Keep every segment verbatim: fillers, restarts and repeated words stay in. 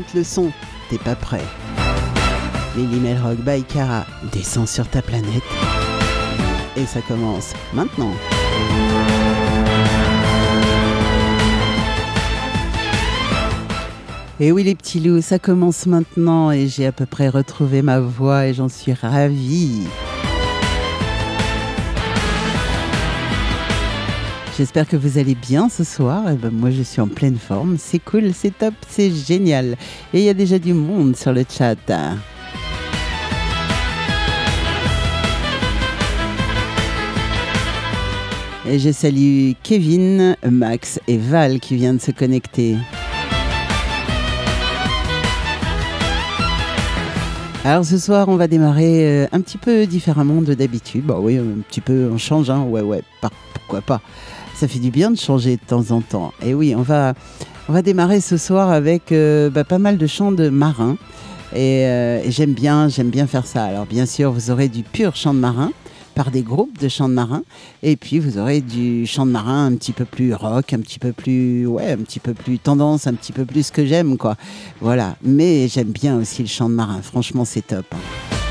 monte le son, t'es pas prêt. Lily Melrock by Cara descend sur ta planète. Et ça commence maintenant. Et oui les petits loups, ça commence maintenant et j'ai à peu près retrouvé ma voix et j'en suis ravie. J'espère que vous allez bien ce soir. Et ben moi je suis en pleine forme, c'est cool, c'est top, c'est génial. Et il y a déjà du monde sur le chat. Et je salue Kevin, Max et Val qui viennent de se connecter. Alors ce soir, on va démarrer euh, un petit peu différemment de d'habitude. Bah oui, un petit peu, on change, hein. Ouais, ouais, par, pourquoi pas. Ça fait du bien de changer de temps en temps. Et oui, on va, on va démarrer ce soir avec euh, bah, pas mal de chants de marins. Et, euh, et j'aime bien, j'aime bien faire ça. Alors bien sûr, vous aurez du pur chant de marin par des groupes de chants de marins. Et puis vous aurez du chant de marin un petit peu plus rock, un petit peu plus, ouais, un petit peu plus tendance, un petit peu plus ce que j'aime, quoi. Voilà. Mais j'aime bien aussi le chant de marin. Franchement, c'est top, hein.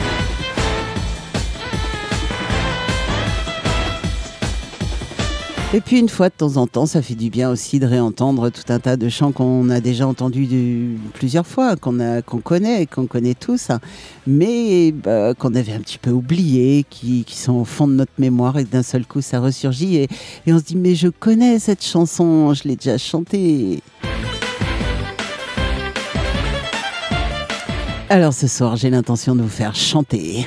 Et puis une fois de temps en temps, ça fait du bien aussi de réentendre tout un tas de chants qu'on a déjà entendus de, plusieurs fois, qu'on a, qu'on connaît, qu'on connaît tous, hein, mais bah, qu'on avait un petit peu oubliés, qui, qui sont au fond de notre mémoire et d'un seul coup ça ressurgit et, et on se dit mais je connais cette chanson, je l'ai déjà chantée. Alors ce soir, j'ai l'intention de vous faire chanter.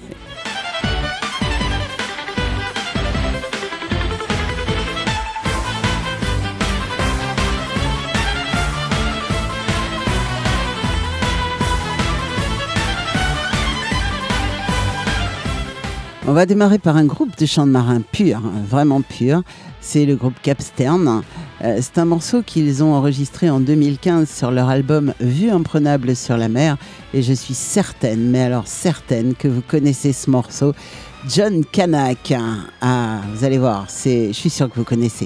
On va démarrer par un groupe de chants de marins pur, hein, vraiment pur. C'est le groupe Capstern. Euh, c'est un morceau qu'ils ont enregistré en deux mille quinze sur leur album Vue imprenable sur la mer. Et je suis certaine, mais alors certaine, que vous connaissez ce morceau. John Kanak. Ah, vous allez voir, c'est, je suis sûr que vous connaissez.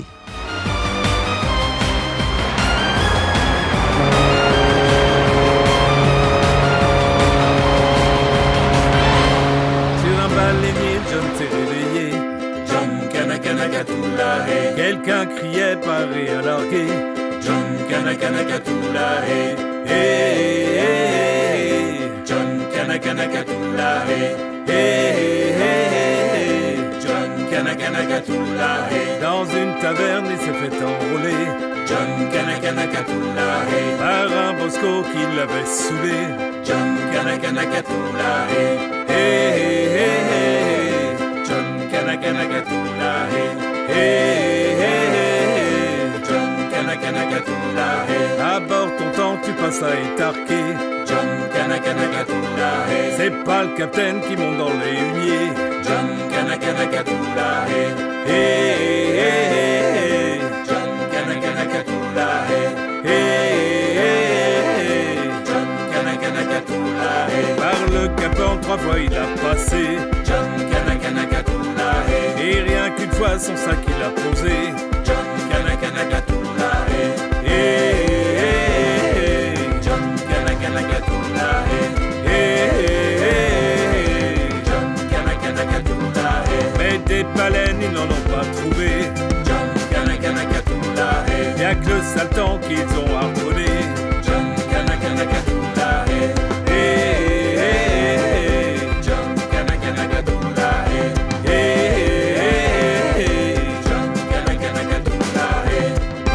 Quelqu'un criait paré à larguer. John Kanakanakatula, hey, hey, hey. John Kanakanakatula, hey, hey, hey. John Kanakanakatula, hey. Dans une taverne, il s'est fait enrôler. John Kanakanakatula, hey. Par un bosco qui l'avait saoulé. John Kanakanakatula, hey, hey, hey, hey. John Kanakanakatula, hey. Hey, hey, hey, John Kanakanakatula, hey. À bord ton temps tu passes à étarquer. John Kanakanakatula, hey. C'est pas le capitaine qui monte dans les huniers. John Kanakanakatula, hey. Hey, hey, hey, John Kanakanakatula, hey. Hey, hey, hey, John Kanakanakatula, hey. Par le capot trois fois il a passé. John Kanakanakatula, hey. Et rien qu'une fois son sac il a posé. John Kanakanakatula, hey. Hey, hey, hey, John Kanakanakatula, hey. Hey, hey, hey, John Kanakanakatula, hey. Mais des baleines ils n'en ont pas trouvé. John Kanakanakatula, hey. Y'a que le sale temps qu'ils ont harponné. John Kanakanakatula, hey. Hey, hey, hey, John Kanakanakatula, hey. Hey, hey, hey, John Kanakanakatula, hey.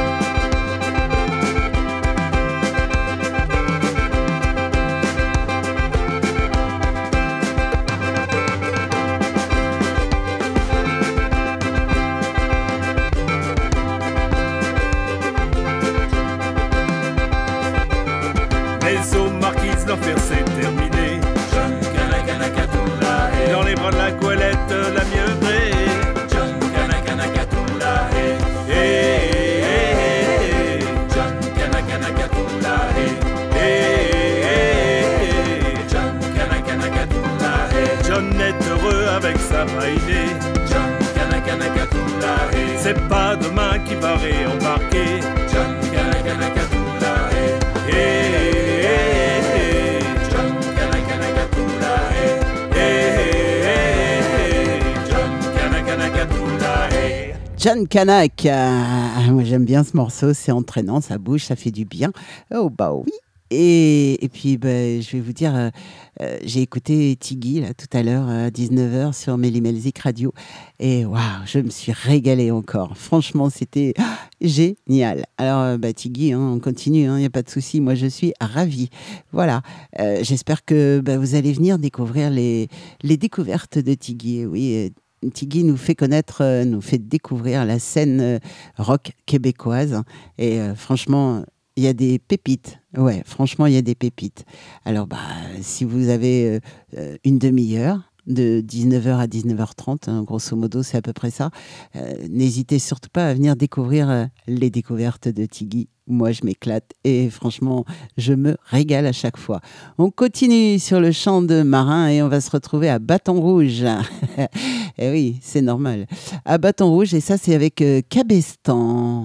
Les eaux marquises, l'enfer c'est terminé. John Kanakanakatula, hey. Dans les bras de la goélette, la mieuvrée. John Kanakanakatula, hey. Hey, hey, hey, John Kanakanakatula, hey. Hey, hey, hey, John Kanakanakatula, hey. John est heureux avec sa maïnée. John Kanakanakatula, hey. C'est pas demain qui va réembarquer. John Kanakanakatula, hey. Hey, hey, John Canac. Euh, moi j'aime bien ce morceau, c'est entraînant, ça bouge, ça fait du bien. Oh bah oui. Et, et puis bah, je vais vous dire, euh, euh, j'ai écouté Tiggy là, tout à l'heure à dix-neuf heures sur Mélimelzik Radio. Et waouh, je me suis régalée encore. Franchement, c'était ah, génial. Alors euh, bah, Tiggy, hein, on continue, il hein, n'y a pas de souci. Moi je suis ravie. Voilà. Euh, j'espère que bah, vous allez venir découvrir les, les découvertes de Tiggy. Oui. Euh, Tiggy nous fait connaître, euh, nous fait découvrir la scène euh, rock québécoise. Et euh, franchement, il y a des pépites. Ouais, franchement, il y a des pépites. Alors, bah, si vous avez euh, une demi-heure, de dix-neuf heures à dix-neuf heures trente, hein, grosso modo, c'est à peu près ça. Euh, n'hésitez surtout pas à venir découvrir euh, les découvertes de Tiggy. Moi, je m'éclate et franchement, je me régale à chaque fois. On continue sur le champ de Marin et on va se retrouver à Bâton Rouge. Et oui, c'est normal. À Bâton Rouge, et ça, c'est avec euh, Cabestan.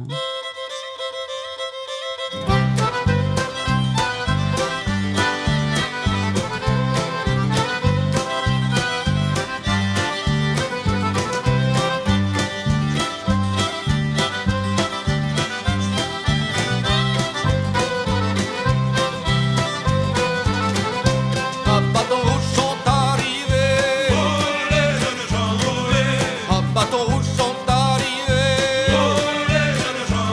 Bâton rouge sont arrivés. Oh, les jeunes gens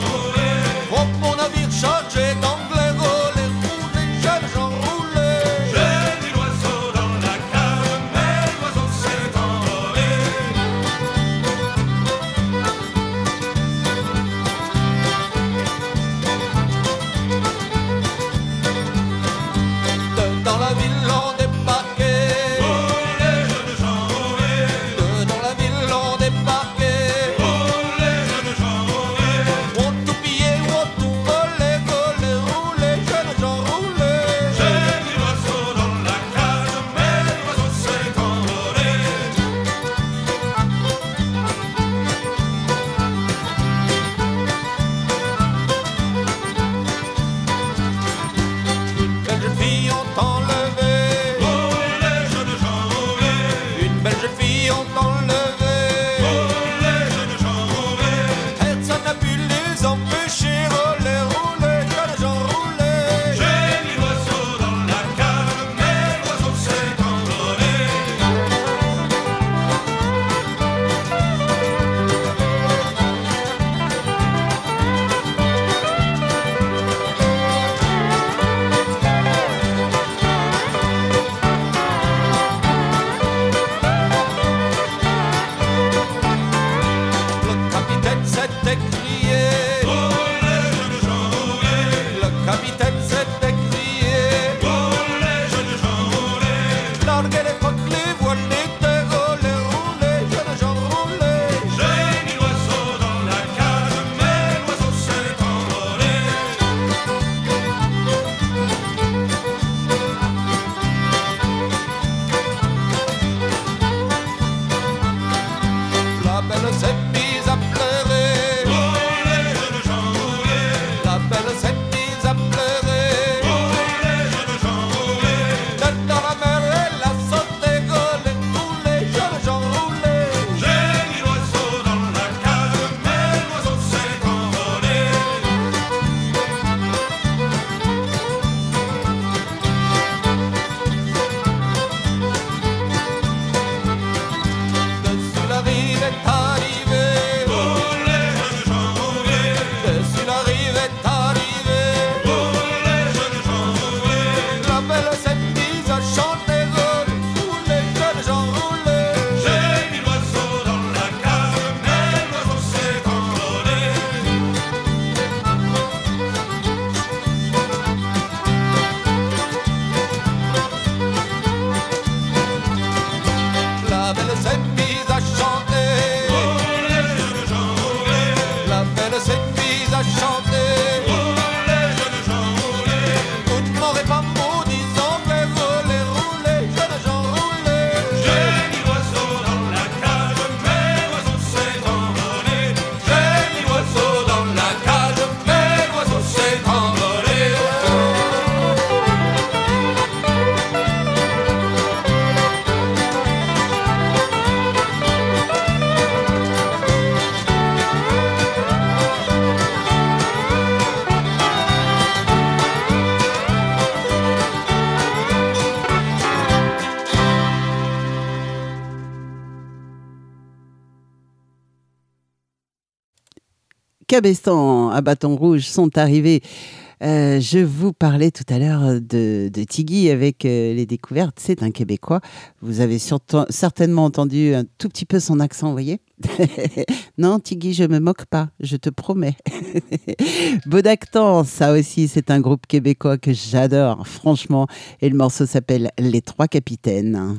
Cabestan à Bâton Rouge sont arrivés. Euh, je vous parlais tout à l'heure de, de Tiggy avec euh, les découvertes. C'est un Québécois. Vous avez surtout, certainement entendu un tout petit peu son accent, vous voyez. Non, Tiggy, je me moque pas, je te promets. Bodactan, ça aussi, c'est un groupe québécois que j'adore, franchement. Et le morceau s'appelle Les Trois Capitaines.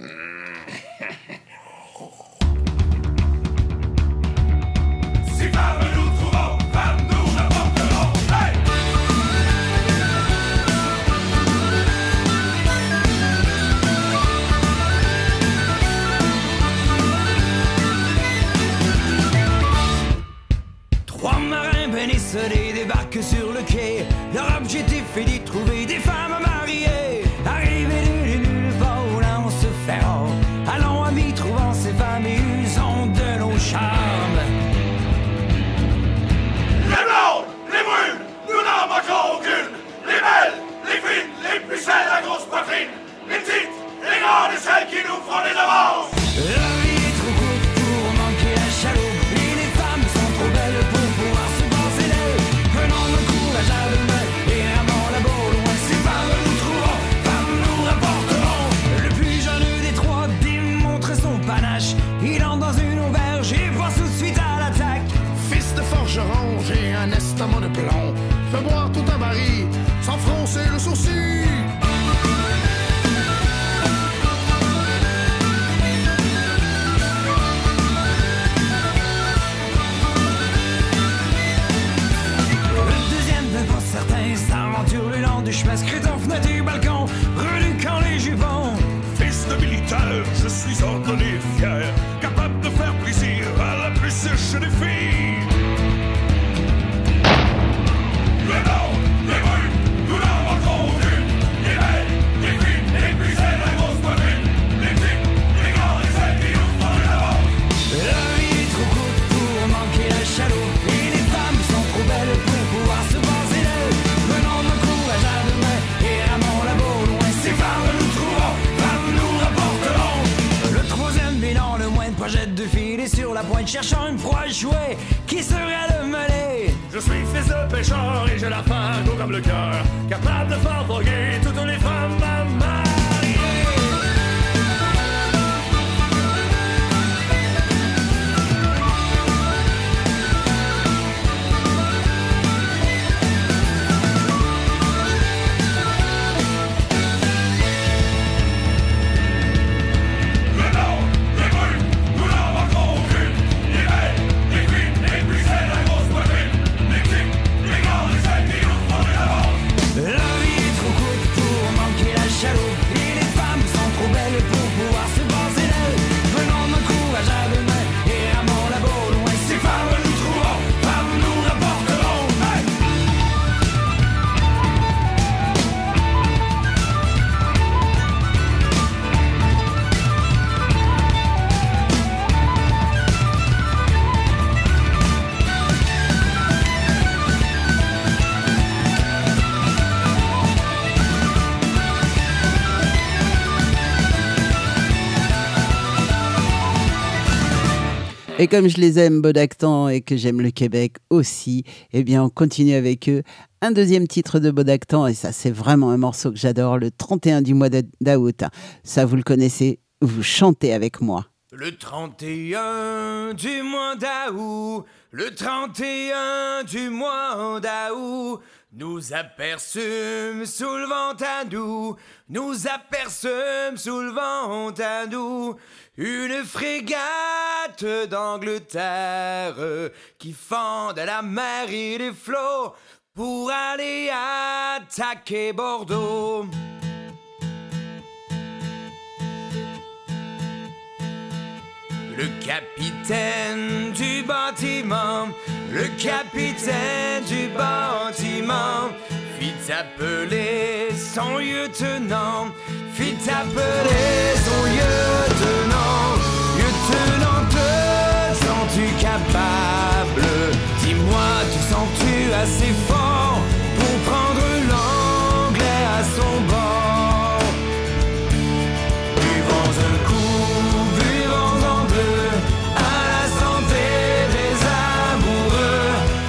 Trois marins bénissonnés débarquent sur le quai. Leur objectif est d'y trouver des femmes mariées. Arrivés de nulle part où l'on se fait rare. Allons amis, trouvant ces femmes et usons de nos charmes. Les blondes, les brunes, nous n'en manquons aucune. Les belles, les fines, les plus celles à grosse poitrine. Les petites, les grandes et celles qui nous feront des avances. La vie est trop courte pour manquer la chaloupe. Et les femmes sont trop belles pour pouvoir se passer d'elles. Prenons le courage à deux mains et ramons la balle loin. Ces femmes nous trouveront, femmes nous rapporteront. Le plus jeune des trois démontre son panache. Il entre dans une auberge et voit tout de suite à l'attaque. Fils de forgeron, j'ai un estomac de plomb. Fais boire tout un baril, sans froncer le sourcil. Certains s'aventurent le long du chemin, scrutant fenêtre du balcon, reluquant les jupons. Fils de militaire, je suis ordonné et fier, capable de faire plaisir à la plus sèche des filles. Les blondes, les brunes, nous n'en manquons aucune. Les belles, les fines, les plus celles à grosse poitrine. Les petites, les grandes et celles qui nous font une avance. La vie est trop courte pour manquer la chaloupe. Et les femmes sont trop belles pour pouvoir se passer d'elles. Prenons le courage à deux mains et ramons la balle loin. Ces femmes nous trouveront, femmes nous rapporteront. Le troisième bilan, le moins de projette de filer sur la pointe, cherchant une proie à jouer. Qui serait le mêlé? Je suis fils de pêcheur et j'ai la faim gros comme le cœur, capable de faire voguer toutes les femmes à marier. Les blondes, les brunes, nous n'en manquons aucune. Les belles, les fines, les plus celles à grosse poitrine. Les petites, les grandes et celles qui nous font une avance. La vie est trop courte pour manquer la chaloupe. Et les femmes sont trop belles pour pouvoir se passer d'elles. Prenons notre courage à deux mains et ramons la balle loin. Ces femmes nous trouveront, femmes nous rapporteront. Hey! Et comme je les aime, Bodactan, et que j'aime le Québec aussi, eh bien, on continue avec eux. Un deuxième titre de Bodactan, et ça, c'est vraiment un morceau que j'adore, le trente et un du mois d'août. Ça, vous le connaissez, vous chantez avec moi. Le trente et un du mois d'août, le trente et un du mois d'août, nous aperçûmes sous le vent à nous, nous aperçûmes sous le vent à nous, une frégate d'Angleterre qui fend de la mer et des flots pour aller attaquer Bordeaux. Le capitaine du bâtiment, le capitaine du bâtiment fit appeler son lieutenant, fit appeler son lieutenant. Lieutenant, te sens-tu capable? Dis-moi, te sens-tu assez fort pour prendre l'anglais à son bord? Buvons un coup, buvons en deux, à la santé des amoureux.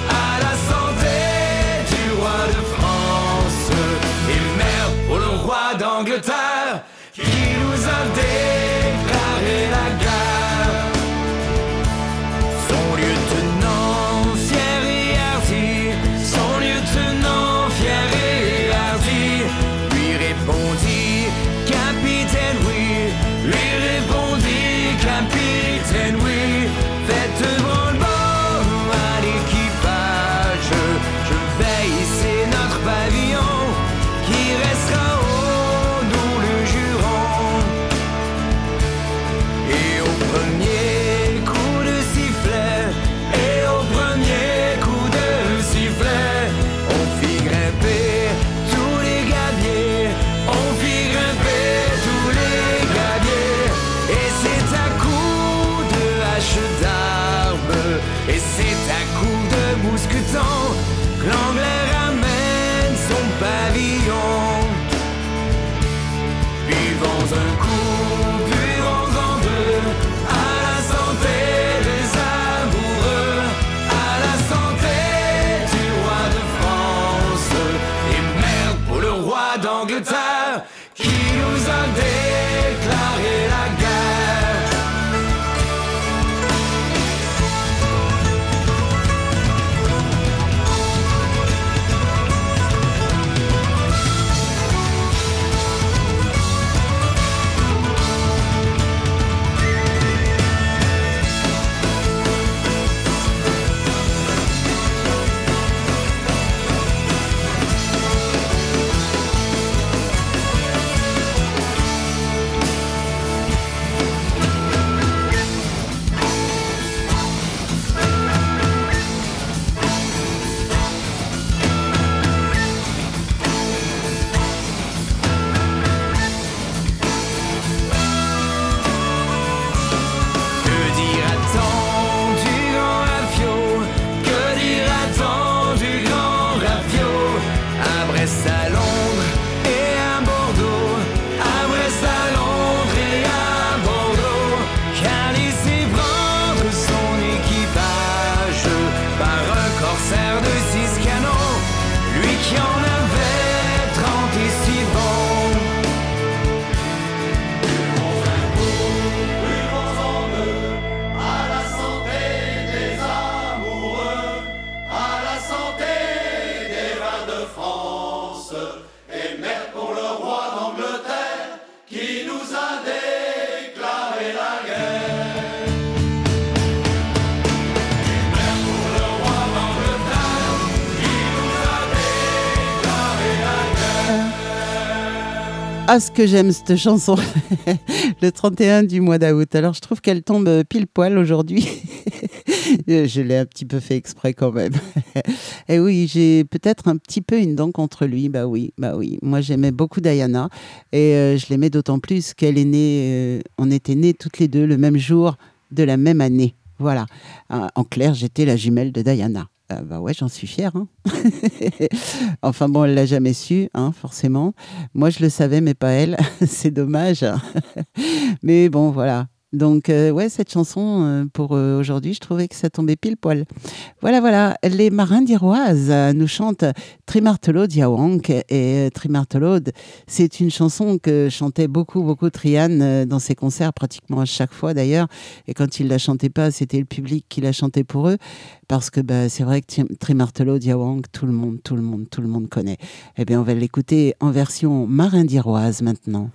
Ah, ce que j'aime cette chanson, le trente et un du mois d'août. Alors, je trouve qu'elle tombe pile poil aujourd'hui. Je l'ai un petit peu fait exprès quand même. Et oui, j'ai peut-être un petit peu une dent contre lui. Bah oui, bah oui. Moi, j'aimais beaucoup Diana et euh, je l'aimais d'autant plus qu'elle est née. Euh, on était nés toutes les deux le même jour de la même année. Voilà. Euh, en clair, j'étais la jumelle de Diana. Euh, bah ouais, j'en suis fière. Hein. Enfin bon, elle l'a jamais su, hein, forcément. Moi, je le savais, mais pas elle. C'est dommage. Mais bon, voilà. Donc, euh, ouais, cette chanson, euh, pour euh, aujourd'hui, je trouvais que ça tombait pile poil. Voilà, voilà. Les Marins d'Iroise euh, nous chantent Trimartelode Yawank. Et euh, Trimartelode, c'est une chanson que chantait beaucoup, beaucoup Trian euh, dans ses concerts, pratiquement à chaque fois d'ailleurs. Et quand il la chantait pas, c'était le public qui la chantait pour eux. Parce que bah, c'est vrai que Trimartelode Yawank, tout le monde, tout le monde, tout le monde connaît. Eh bien, on va l'écouter en version Marins d'Iroise maintenant.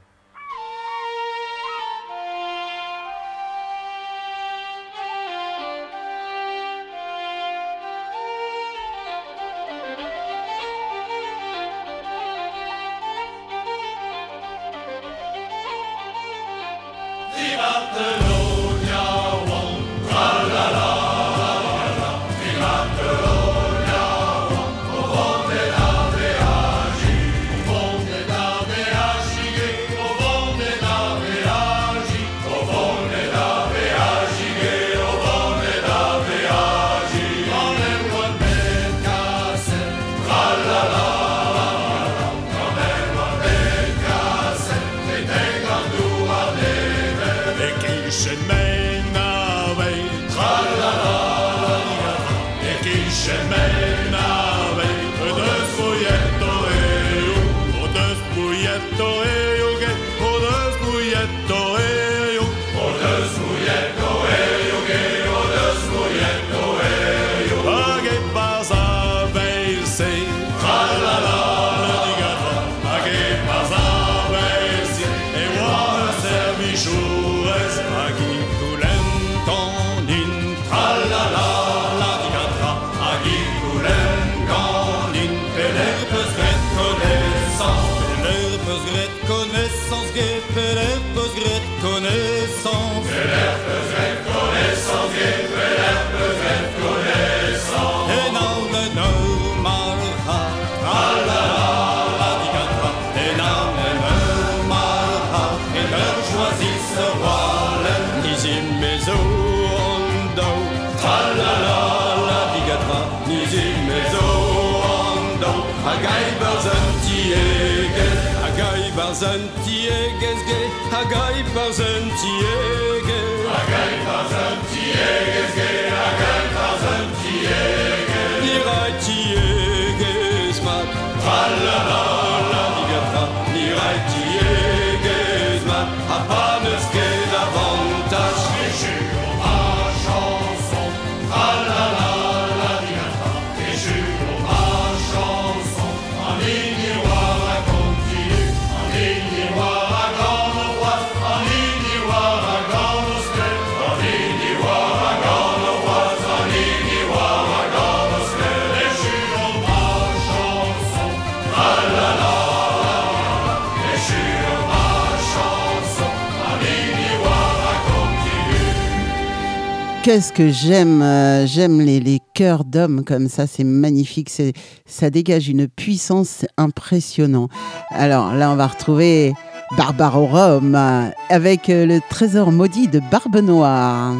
Qu'est-ce que j'aime, euh, j'aime les, les chœurs d'hommes comme ça, c'est magnifique, c'est, ça dégage une puissance impressionnante. Alors là, on va retrouver Barbarorum euh, avec euh, le trésor maudit de Barbe Noire.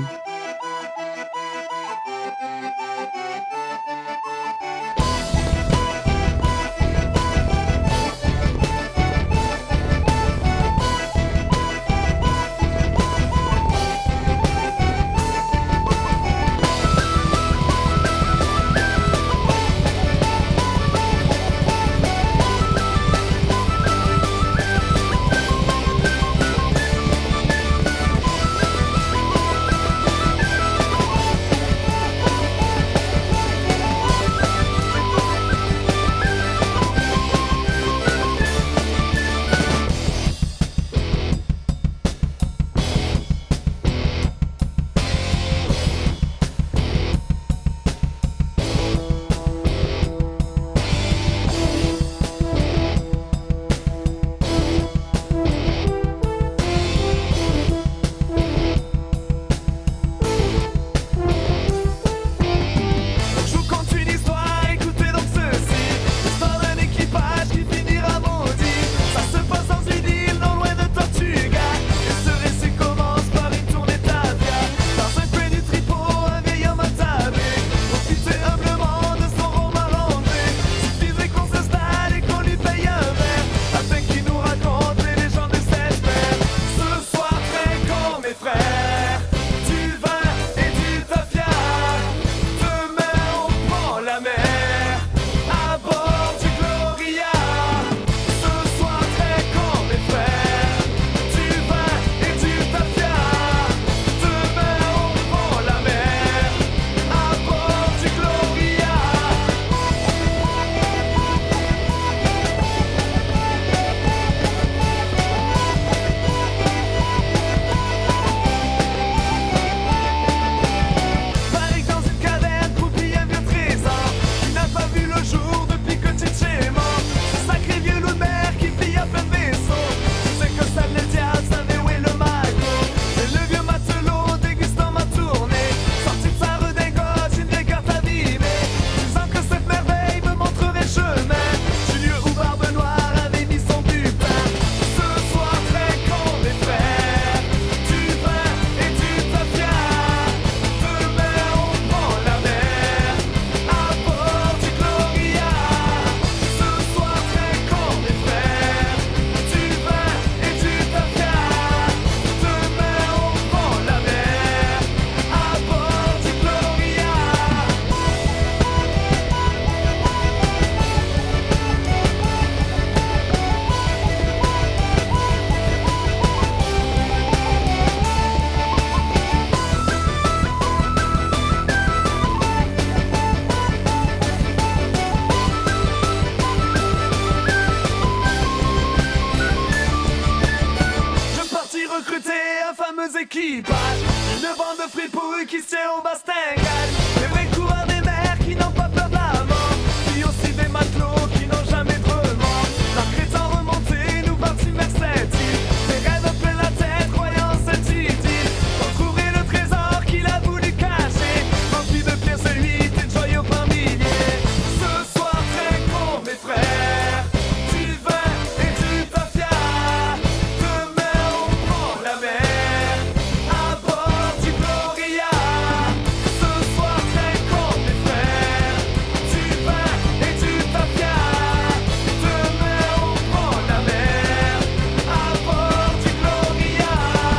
construit pour eux qui se tient au bastingade. Les vrais coureurs des mers qui n'ont pas peur de la mort. Puis aussi des matelots qui n'ont jamais de remords. L'arc étant remonté, nous partîmes vers cette île. Des rêves plein la tête, croyant cette idylle. Pour trouver le trésor qu'il a voulu cacher. Rempli de pierres, celui de joyaux par milliers. Ce soir, très con, mes frères. Du vin et du tafia. Demain, on prend la mer. À bord du Gloria. Ce soir, très con, mes frères. Du vin et du tafia. Demain, on prend la mer. À bord du Gloria.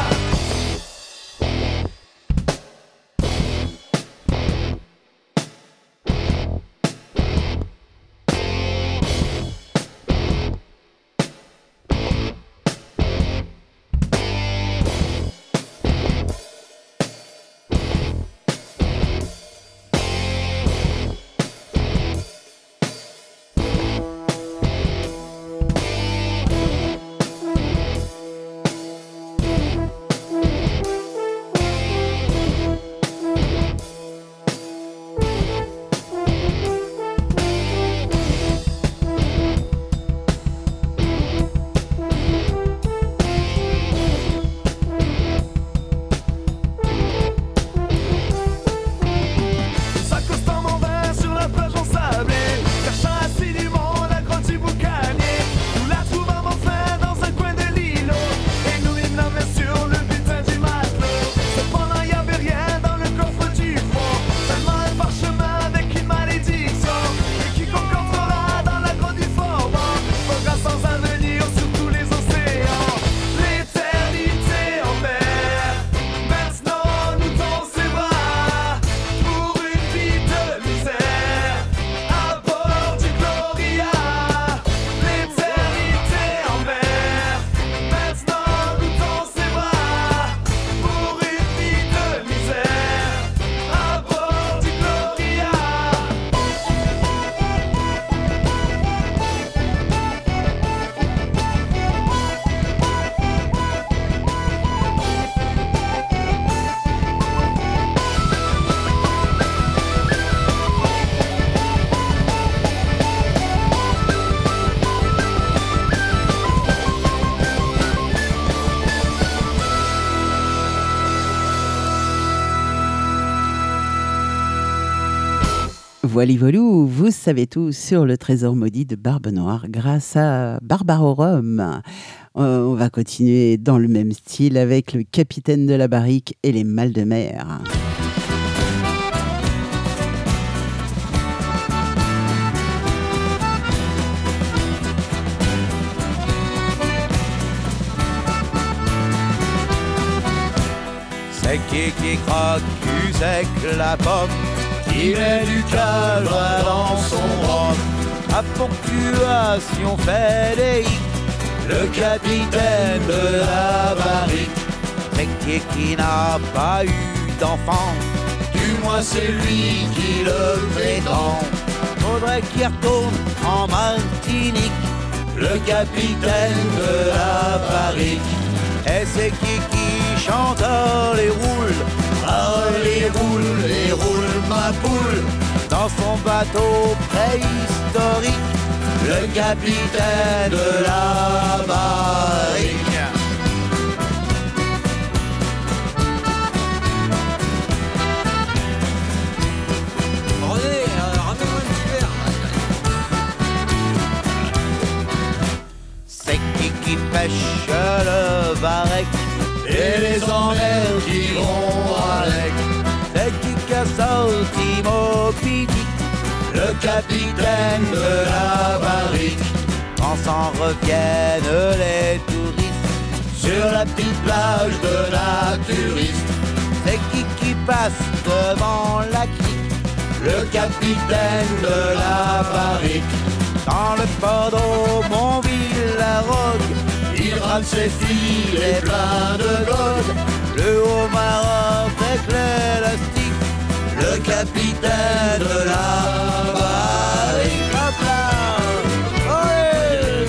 S'accostant mon vin sur la plage ensablée, cherchant assidûment la grotte du boucanier. Nous la trouvâmes enfin dans un coin de l'îlot, et nous mîmes la main sur le butin du matelot. Cependant y avait rien dans le coffre du fond, seulement un parchemin avec une malédiction. Et quiconque entrera dans la grotte du Faubourg faudra sans avenir sur tous les océans. L'éternité en mer, maintenant nous dans ses bras. Pour une vie de misère, à bord du Gloria. L'éternité en mer, maintenant nous dans ses bras. Pour une vie de misère, à bord du Gloria. Voili voilou, vous savez tout sur le trésor maudit de Barbe Noire grâce à Barbarorum. Euh, On va continuer dans le même style avec le capitaine de la barrique et les mal de mer. C'est qui qui croque cul sec la pomme, qui met du calme dans son rhum. À ponctuation fédéique, le capitaine de la barrique. C'est qui qui n'a pas eu d'enfant, du moins c'est lui qui le prétend. Faudrait qu'il retourne en Martinique, le capitaine de la barrique. Et c'est qui qui chante les roules, ah les roules, les roules ma poule. Dans son bateau préhistorique, le capitaine de la barrique. René, euh, ramène-moi un petit verre. C'est qui qui pêche le barec et les emmerdes qui vont avec. C'est qui qui a sorti Moby Dick, le capitaine de la barrique. Quand s'en reviennent les touristes sur la petite plage de naturiste. C'est qui qui passe devant la crique, le capitaine de la barrique. Dans le port d'Aumonville-la-Rogue, il rame ses filets pleins de gold. Le homard avec l'élastique, le capitaine de la barrique. Hop là! Olé!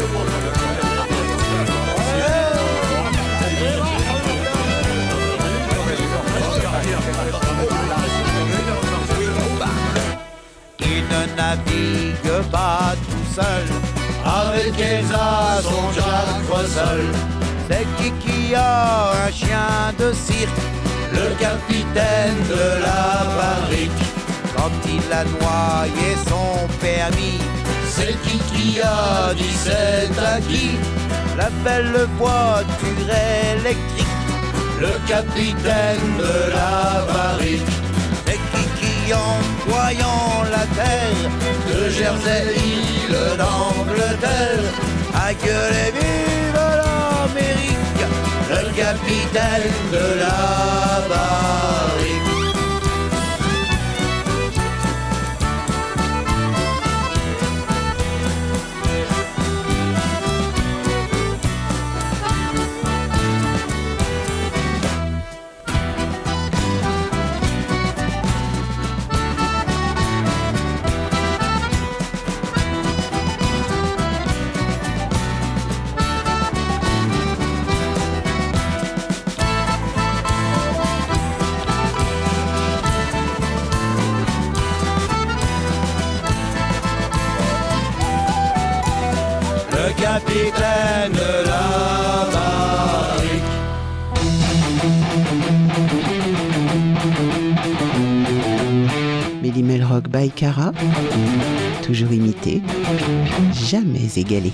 navigue pas tout seul. Avec Elsa, son Jacques Russell. C'est qui qui a un chien de cirque? Le capitaine de la barrique. Quand il a noyé son permis, c'est qui qui a dit c'est à qui? La belle voiture électrique. Le capitaine de la barrique. C'est qui qui en voyant la terre de Jersey, île d'Angleterre, a gueulé vive l'Amérique, le capitaine de la barrique. Capitaine de la barrique. Méli-Mél Rock by Cara, toujours imité, jamais égalé.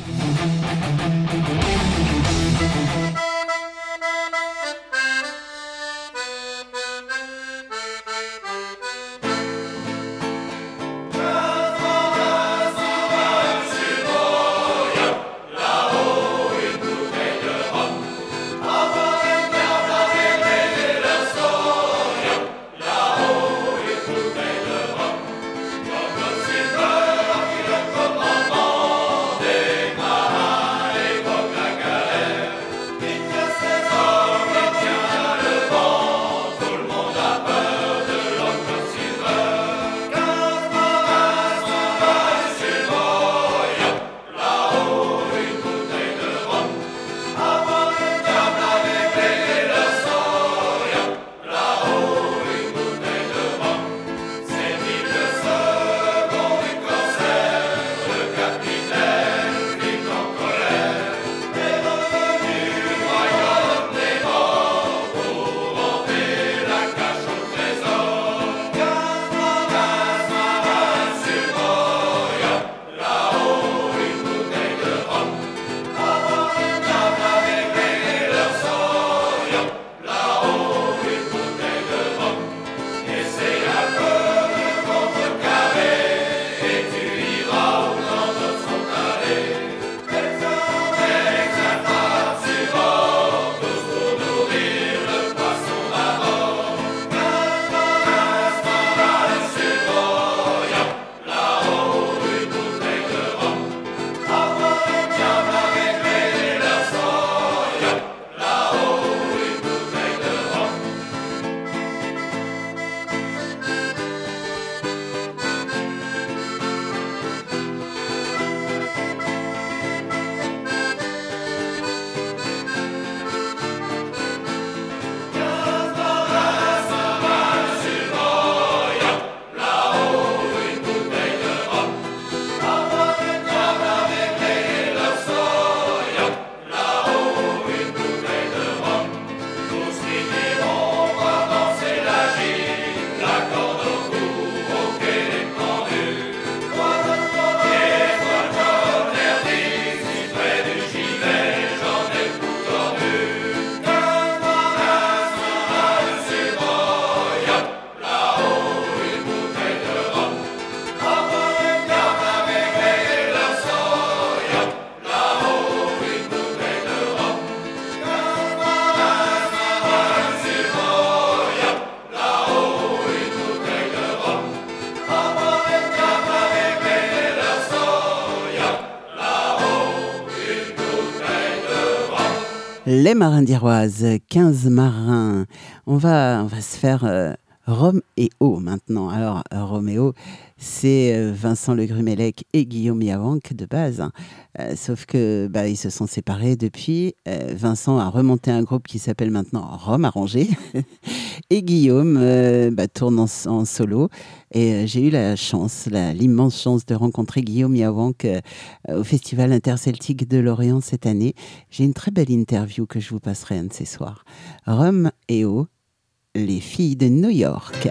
Les marins d'Iroise, quinze marins. On va, on va se faire euh, Rome et eau maintenant. Alors, Roméo, c'est Vincent Le Grumellec et Guillaume Yawank de base. Hein. Euh, sauf que bah, ils se sont séparés depuis. Euh, Vincent a remonté un groupe qui s'appelle maintenant Rome Arrangé. Et Guillaume euh, bah, tourne en, en solo. Et euh, j'ai eu la chance, la, l'immense chance de rencontrer Guillaume Yawank euh, au Festival interceltique de Lorient cette année. J'ai une très belle interview que je vous passerai un de ces soirs. Rome et eau. Les filles de New York.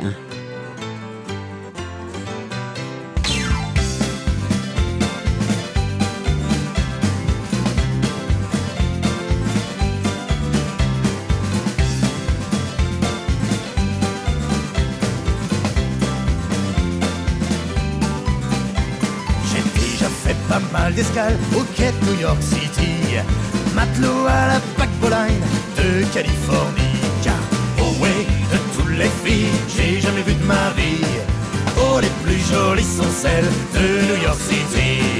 J'ai déjà fait pas mal d'escales au quai de New York City, matelot à la paquebot line de Californie. Oh ouais, de toutes les filles j'ai jamais vu de ma vie, oh les plus jolies sont celles de New York City.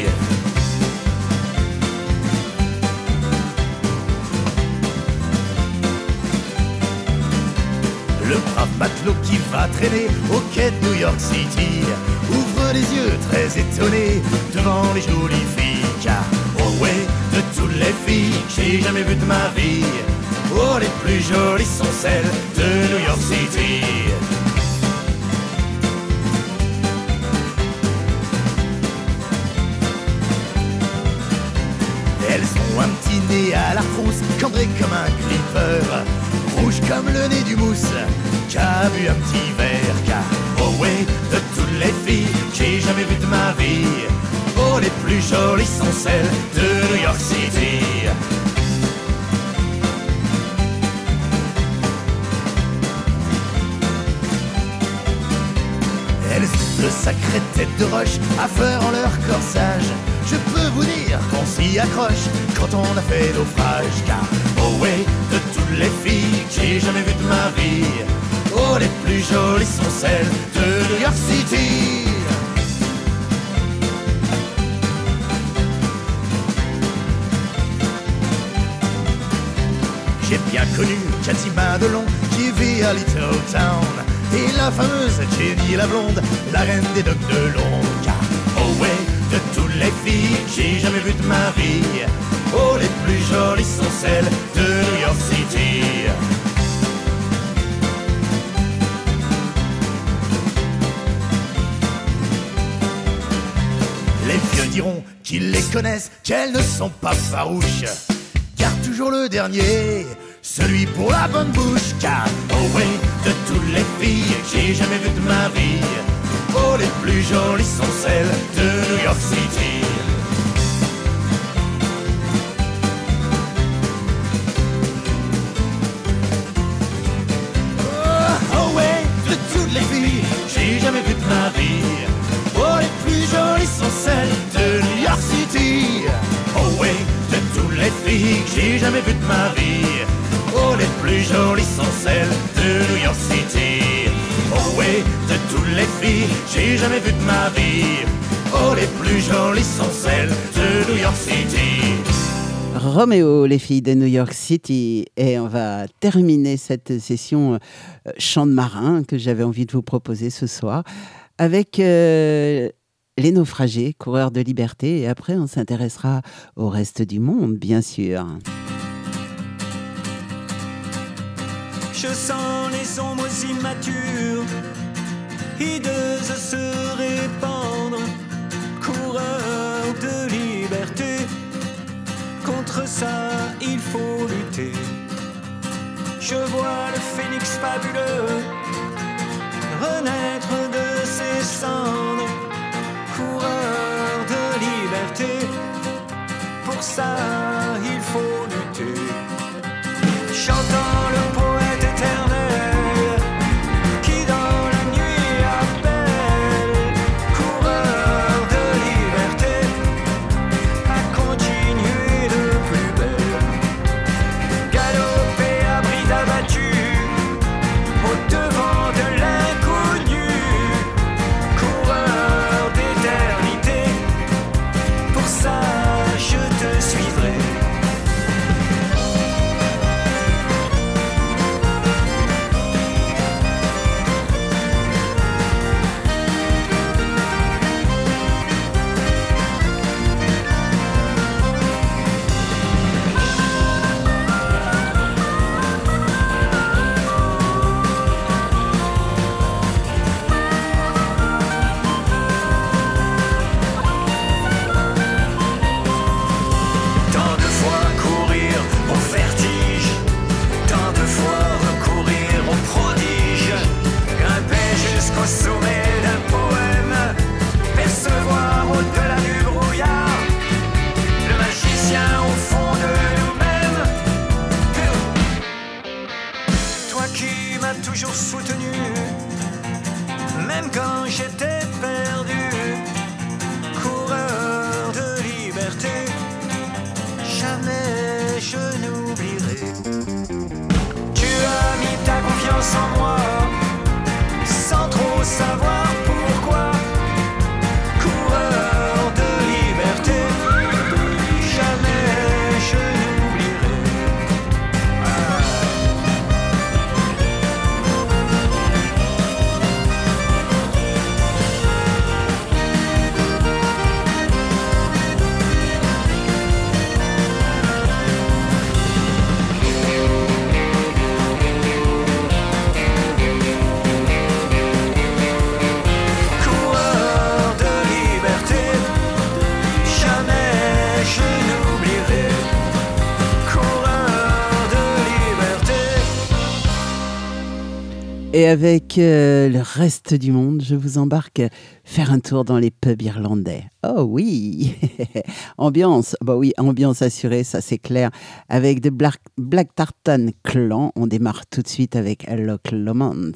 Le brave matelot qui va traîner au quai de New York City ouvre les yeux très étonné devant les jolies filles, car oh ouais, de toutes les filles j'ai jamais vu de ma vie, oh les plus jolies sont celles de New York City. Elles ont un petit nez à la frousse, cambré comme un clipper, rouge comme le nez du mousse, qui a bu un petit verre, car oh ouais, de toutes les filles j'ai jamais vu de ma vie, oh les plus jolies sont celles de New York City. De sacrées têtes de roche à faire en leur corsage, je peux vous dire qu'on s'y accroche quand on a fait naufrage, car oh ouais, de toutes les filles que j'ai jamais vues de ma vie, oh les plus jolies sont celles de New York City. J'ai bien connu Cathy Madelon qui vit à Little Town, et la fameuse Jenny la blonde, la reine des docks de Londres. Car oh ouais, de toutes les filles que j'ai jamais vues de ma vie, oh les plus jolies sont celles de New York City. Les vieux diront qu'ils les connaissent, qu'elles ne sont pas farouches, car toujours le dernier, celui pour la bonne bouche, car oh ouais, de toutes les filles que j'ai jamais vues de ma vie, oh les plus jolies sont celles de New York City. Oh, oh ouais, de toutes les filles que j'ai jamais vues de ma vie, oh les plus jolies sont celles de New York City. Oh ouais, de toutes les filles que j'ai jamais vues de ma vie, oh les plus jolies sont celles de New York City. Oh ouais, de toutes les filles j'ai jamais vu de ma vie, oh les plus jolies sont celles de New York City. Roméo, les filles de New York City. Et on va terminer cette session euh, chant de marin que j'avais envie de vous proposer ce soir avec euh, les naufragés, coureurs de liberté. Et après, on s'intéressera au reste du monde, bien sûr. Je sens les ombres immatures, hideuses se répandre, coureurs de liberté. Contre ça, il faut lutter. Je vois le phénix fabuleux renaître de ses cendres, coureur de liberté. Pour ça, il faut lutter. Chantant le poète éternel qui dans la nuit appelle, coureur de liberté, à continuer de plus belle. Galoper à bride abattue au devant de l'inconnu, coureur d'éternité. Pour ça je te suivrai. même quand j'étais perdu. Coureur de liberté, jamais je n'oublierai. Tu as mis ta confiance en moi, sans trop savoir pourquoi. Coureur de liberté, jamais je n'oublierai. Et avec euh, le reste du monde, je vous embarque faire un tour dans les pubs irlandais. Oh oui, ambiance, bah oui, ambiance assurée, ça c'est clair. Avec The Black, Black Tartan Clan, on démarre tout de suite avec Loch Lomond.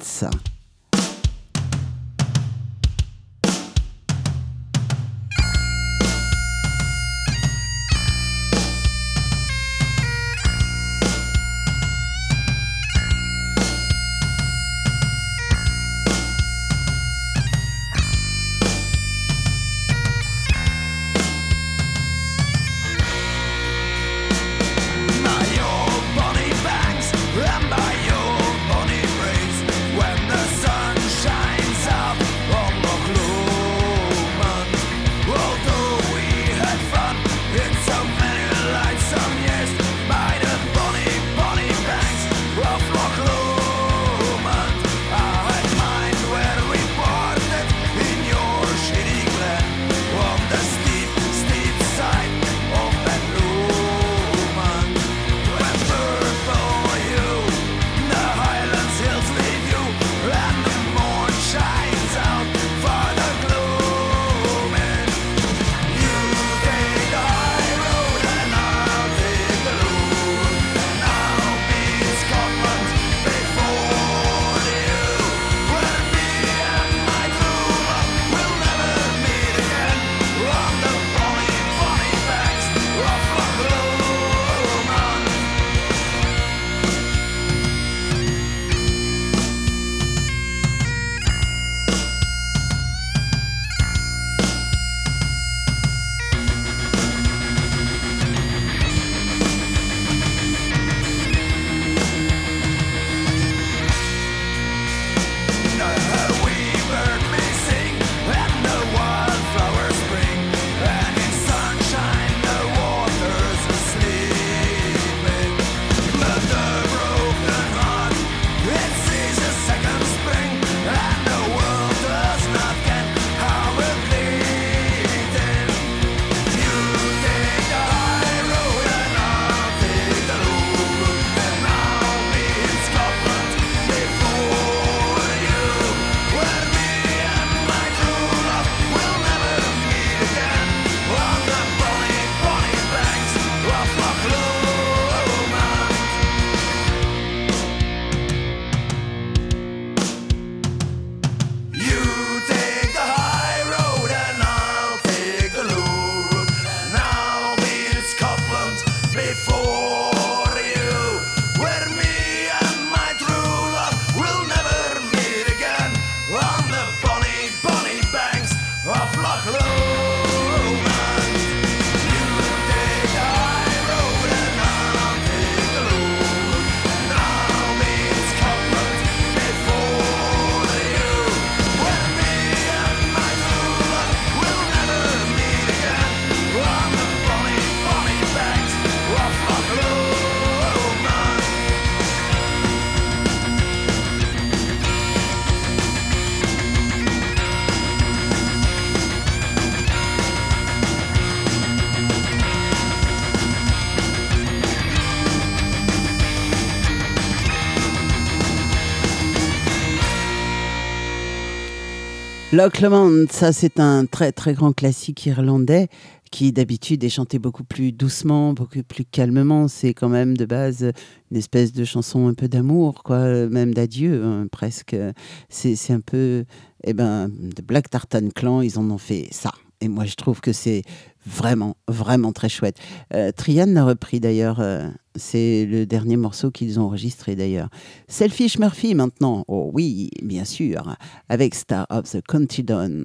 Loch Lomond, ça c'est un très très grand classique irlandais qui d'habitude est chanté beaucoup plus doucement, beaucoup plus calmement. C'est quand même de base une espèce de chanson un peu d'amour, quoi, même d'adieu, hein, presque. C'est, c'est un peu, eh ben, de Black Tartan Clan, ils en ont fait ça. Et moi, je trouve que c'est vraiment, vraiment très chouette. Euh, Trian l'a repris d'ailleurs. Euh, c'est le dernier morceau qu'ils ont enregistré d'ailleurs. Selfish Murphy maintenant. Oh oui, bien sûr. Avec Star of the Country Dawn.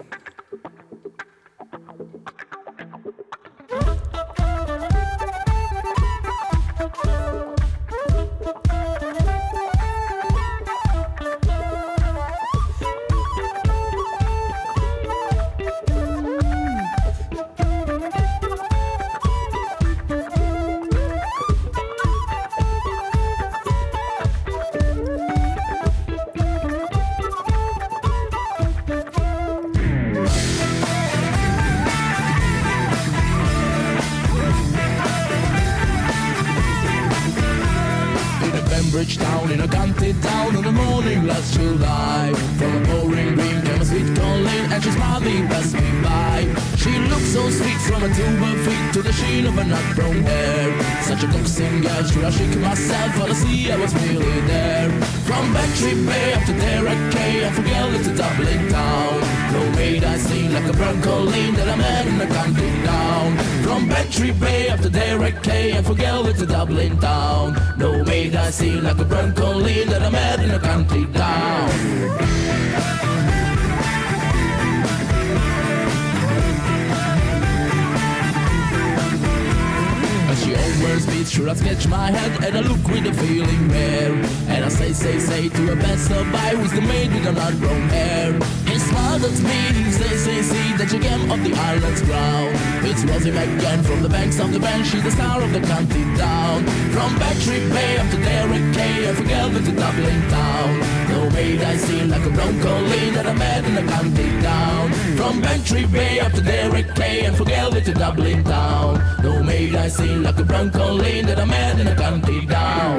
Town in a country town on the morning last July. From a pouring rain came a sweet Colleen, and she smiled me, passed me by. She looked so sweet from her to her feet to the sheen of her nut brown hair. Such a coaxing girl, should I shake myself for the sea? I was really there. From Bantry Bay up to Derek K, I forget it's a Dublin town. No maid I seen like a brown Colleen that I met in a country town. From Bantry Bay up to Derek K, I forget it's a Dublin town. No maid I seen like a brown Colleen that I met in a country town. She always beats, sure I sketch my head and I look with a feeling rare. And I say, say, say to a passerby who's the maid with the nut brown hair. He smiled at me, say, say, say that you came off the island's ground. It's Rosie McGann from the banks of the bench, she's the star of the country town. From Bantry Bay up to Derek K, I forget with the Dublin town. No maid I seen like a brown Colleen that I met in the country town. From Bantry Bay up to Derek K, and forget with the Dublin town. No maid I seen like a brown Colleen that I met in a country town.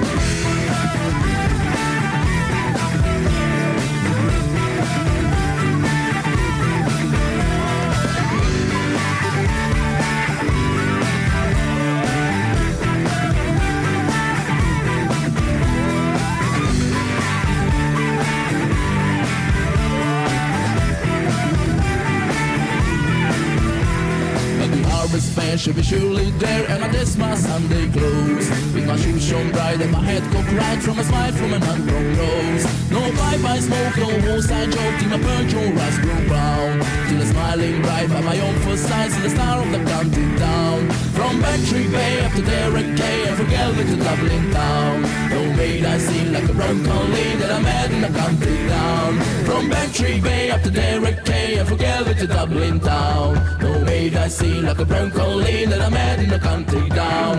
She'll be surely there, and I dress my Sunday clothes with my shoes shone bright and my head cocked right from a smile from an ungrown rose. No bye-bye smoke, no roadside joke, till my perch or rice grow brown. Till a smiling bright by my own first sight, see the star of the country town. From Bantry Bay up to Derek K, and from Galway to Dublin town. No maid I seen like a brown Colleen that I met in the country town. From Bantry Bay up to Derek K, and from Galway to Dublin town. No maid I seen like a brown Colleen that I met in the country town.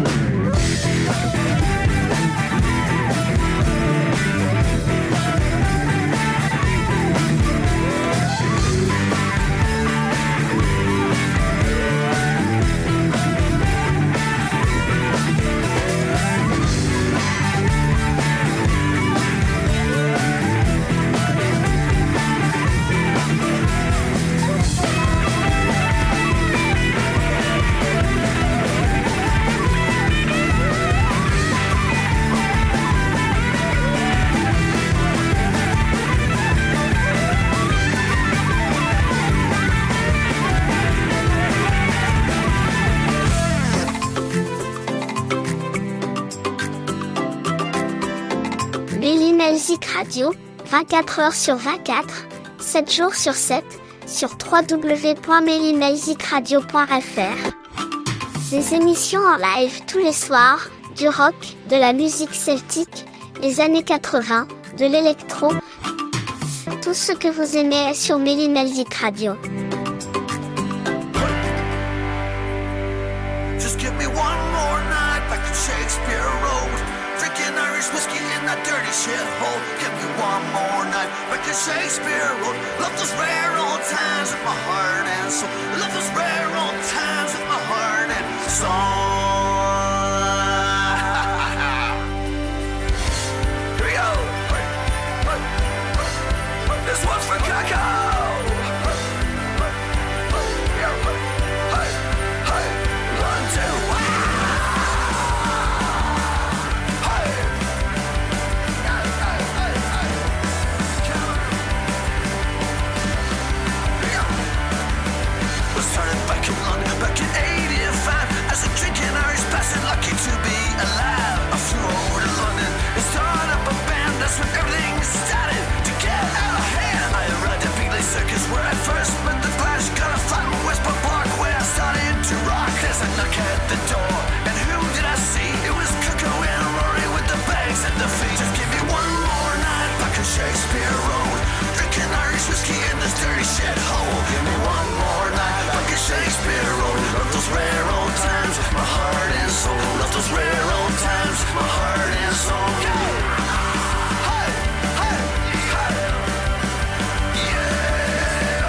Melzik Radio, vingt-quatre heures sur vingt-quatre, sept jours sur sept, sur w w w point melzik radio point f r. Des émissions en live tous les soirs, du rock, de la musique celtique, les années quatre-vingts, de l'électro. Tout ce que vous aimez est sur Melzik Radio. Just give me one more night back to Shakespeare Road. Drinking Irish whiskey in that dirty shithole. Give me one more night back to Shakespeare Road. Love those rare old times with my heart and soul. Love those rare old times with my heart and soul. Here we go. This one's for Cacao. Hey. shithole. Give me one more night like a Shakespeare road. Love those rare old times, my heart and soul. Love those rare old times, my heart and soul. Hey, hey, hey. Yeah.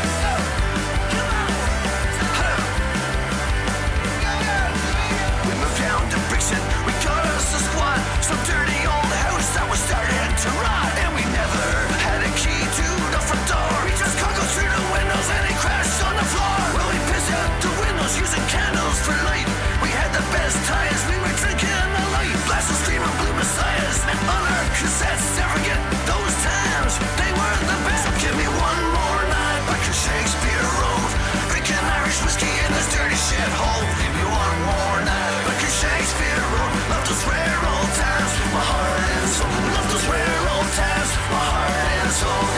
We moved down to Brixton, we got us a squad. Some dirty old house that was starting to rot. And we never had a key to the front door. We just can't go through the windows and it crashed on the floor. Well, we pissed out the windows using candles for light. We had the best times, we were drinking a light. Blasting screaming blue messiahs and on our cassettes. Never forget those times, they were the best. So give me one more night like a Shakespeare road. Drinking Irish whiskey in this dirty shithole. Give me one more night like a Shakespeare road. Love those rare old times, my heart and soul. Love those rare old times, my heart and soul.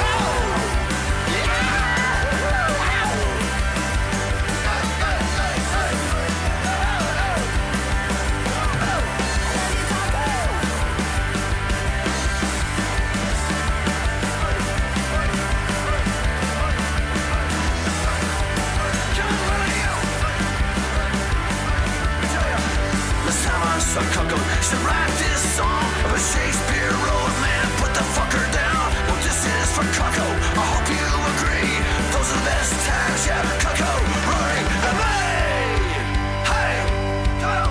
So Coco should write this song of a Shakespeare road. Man, put the fucker down. Well, this is for Coco. I hope you agree. Those are the best times, yeah. Coco, Rory, and me. Hey, go.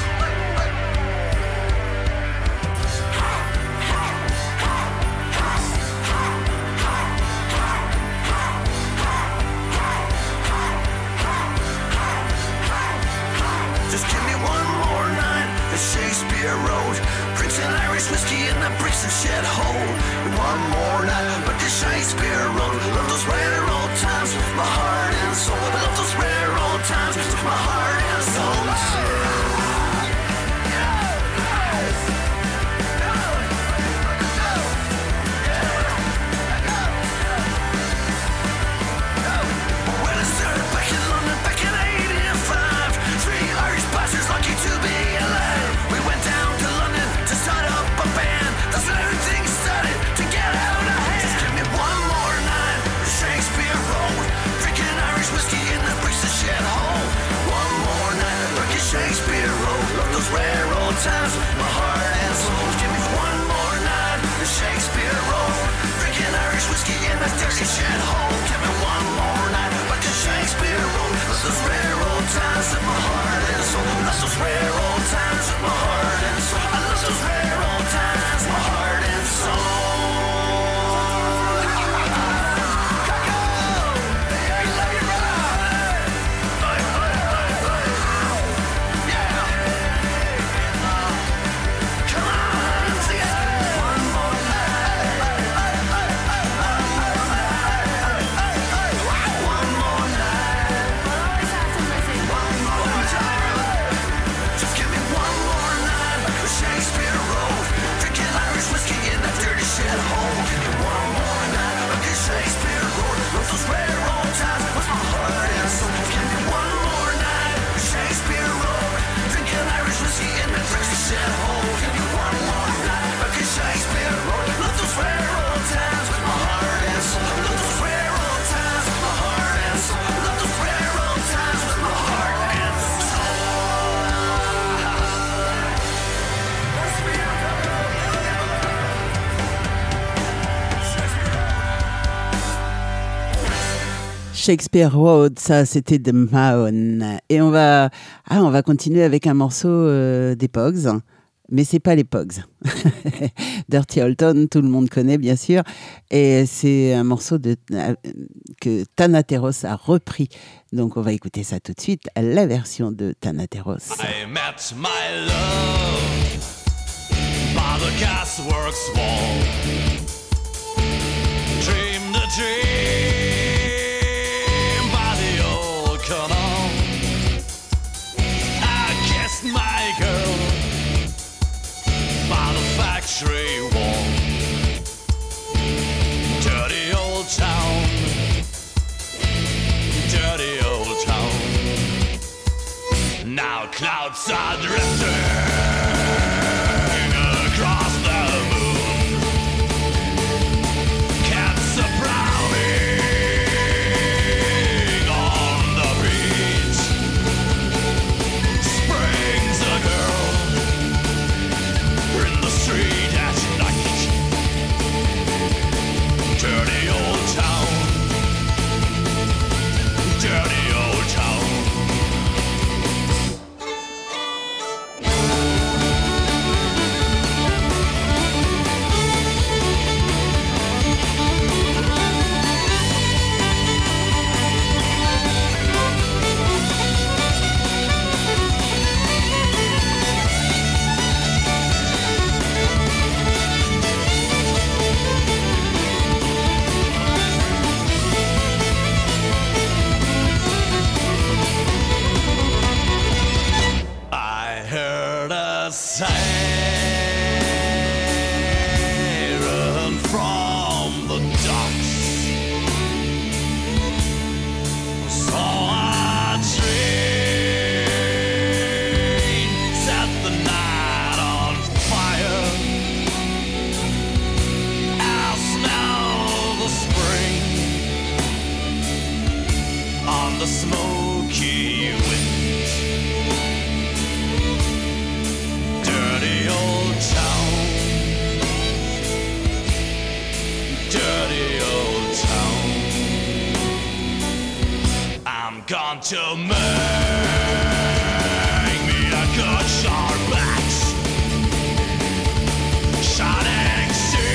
Just give me one more night. Shakespeare Road, drinks and Irish whiskey in the bricks and shed hole. One more night, but the Shakespeare Road. Love those rare old times with my heart and soul. I love those rare old times with my heart and soul. When I started back in London back in eighty-five, three Irish bastards lucky to be alive. We went down to London to start up a band. That's when everything started to get out of hand. Just give me one more night, Shakespeare Road. Drinking Irish whiskey in the bricks and shed hole. One more night, like a Shakespeare Road. Love those rare old times, my heart and soul. Give me one more night, Shakespeare Road. Drinking Irish whiskey in the dirty shed hole. Give me one more night, like a Shakespeare Road. Love those rare old times in my heart and soul. Love those rare old times in my heart and soul. I love those rare old times, my heart and soul. Shakespeare Road, ça c'était de Mahon. Et on va, ah, on va continuer avec un morceau euh, des Pogs, mais c'est pas les Pogs. Dirty Old Town, tout le monde connaît bien sûr. Et c'est un morceau de, euh, que Thanateros a repris. Donc on va écouter ça tout de suite, la version de Thanateros. I met my love by the gasworks wall. Dream the dream. My girl by the factory wall. Dirty old town, dirty old town. Now clouds are drifting across the moon. Cats are prowling smoky wind. Dirty old town. Dirty old town. I'm gone to make me a good sharp axe. Shining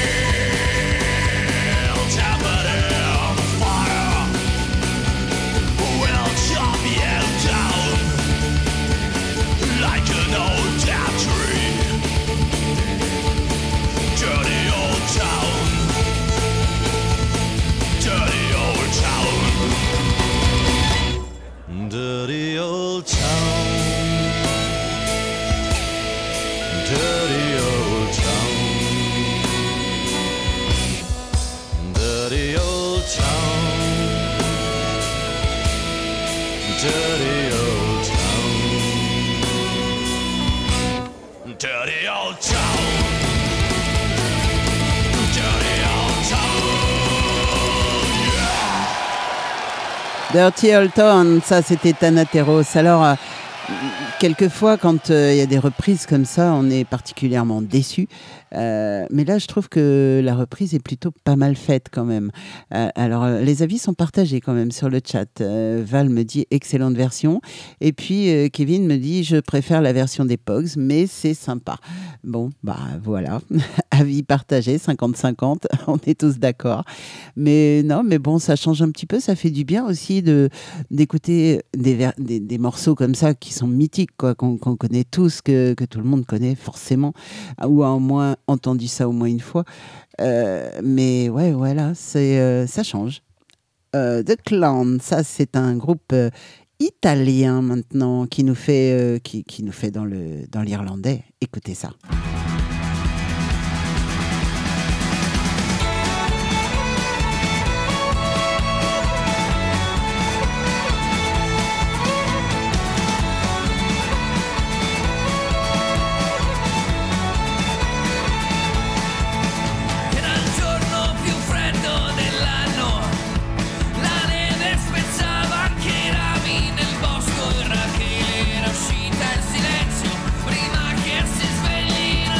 steel, tempered in fire. Will chop you down like an old dead tree. Dirty old town. Dirty old town. Dirty old town. Dirty old town. Dirty old town. Dirty old town. Dirty old town. Dirty old town. Dirty Old Town, ça c'était Thanateros. Alors, euh, quelquefois, quand il euh, y a des reprises comme ça, on est particulièrement déçu. Euh, mais là, je trouve que la reprise est plutôt pas mal faite quand même. Euh, alors, euh, les avis sont partagés quand même sur le chat. Euh, Val me dit excellente version. Et puis, euh, Kevin me dit je préfère la version des Pogs, mais c'est sympa. Bon, bah voilà. Avis partagé, cinquante cinquante. On est tous d'accord. Mais non, mais bon, ça change un petit peu. Ça fait du bien aussi de, d'écouter des, ver- des, des morceaux comme ça qui sont mythiques, quoi, qu'on, qu'on connaît tous, que, que tout le monde connaît forcément, ou au moins entendu ça au moins une fois. Euh, mais ouais, voilà, c'est, euh, ça change. Euh, The Clown, ça c'est un groupe euh, italien maintenant qui nous fait, euh, qui, qui nous fait dans, le, dans l'irlandais. Écoutez ça. Prima che si svegli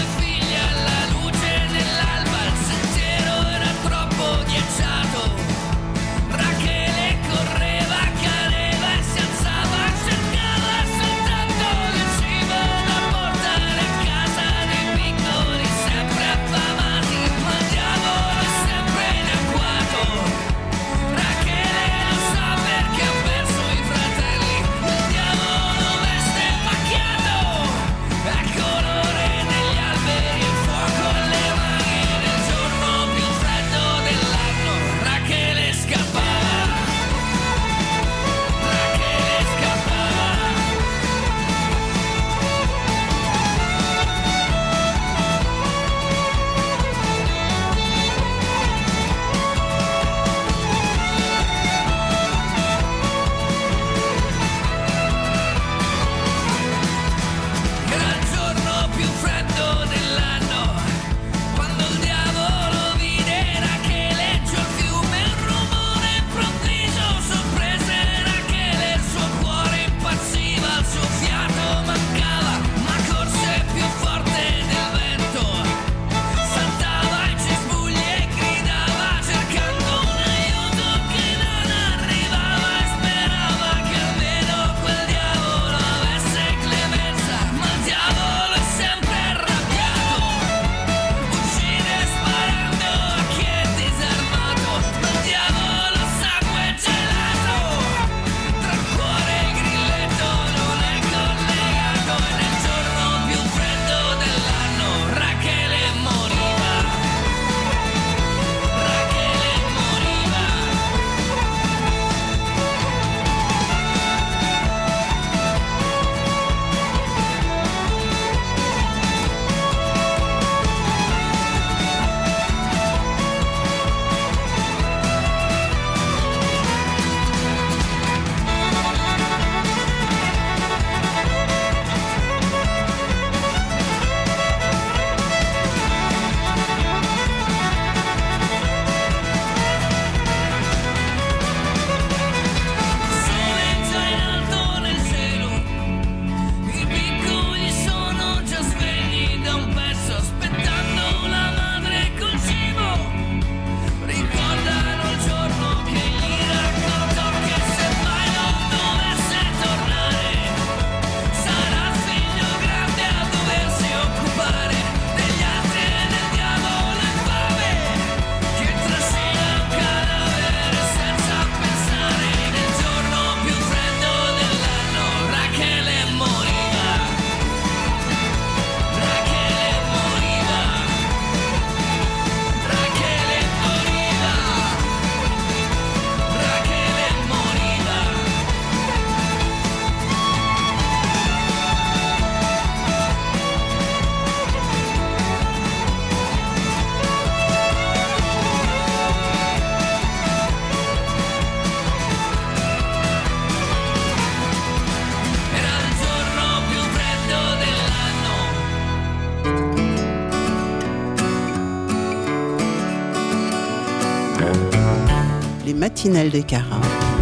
les matinales de Cara.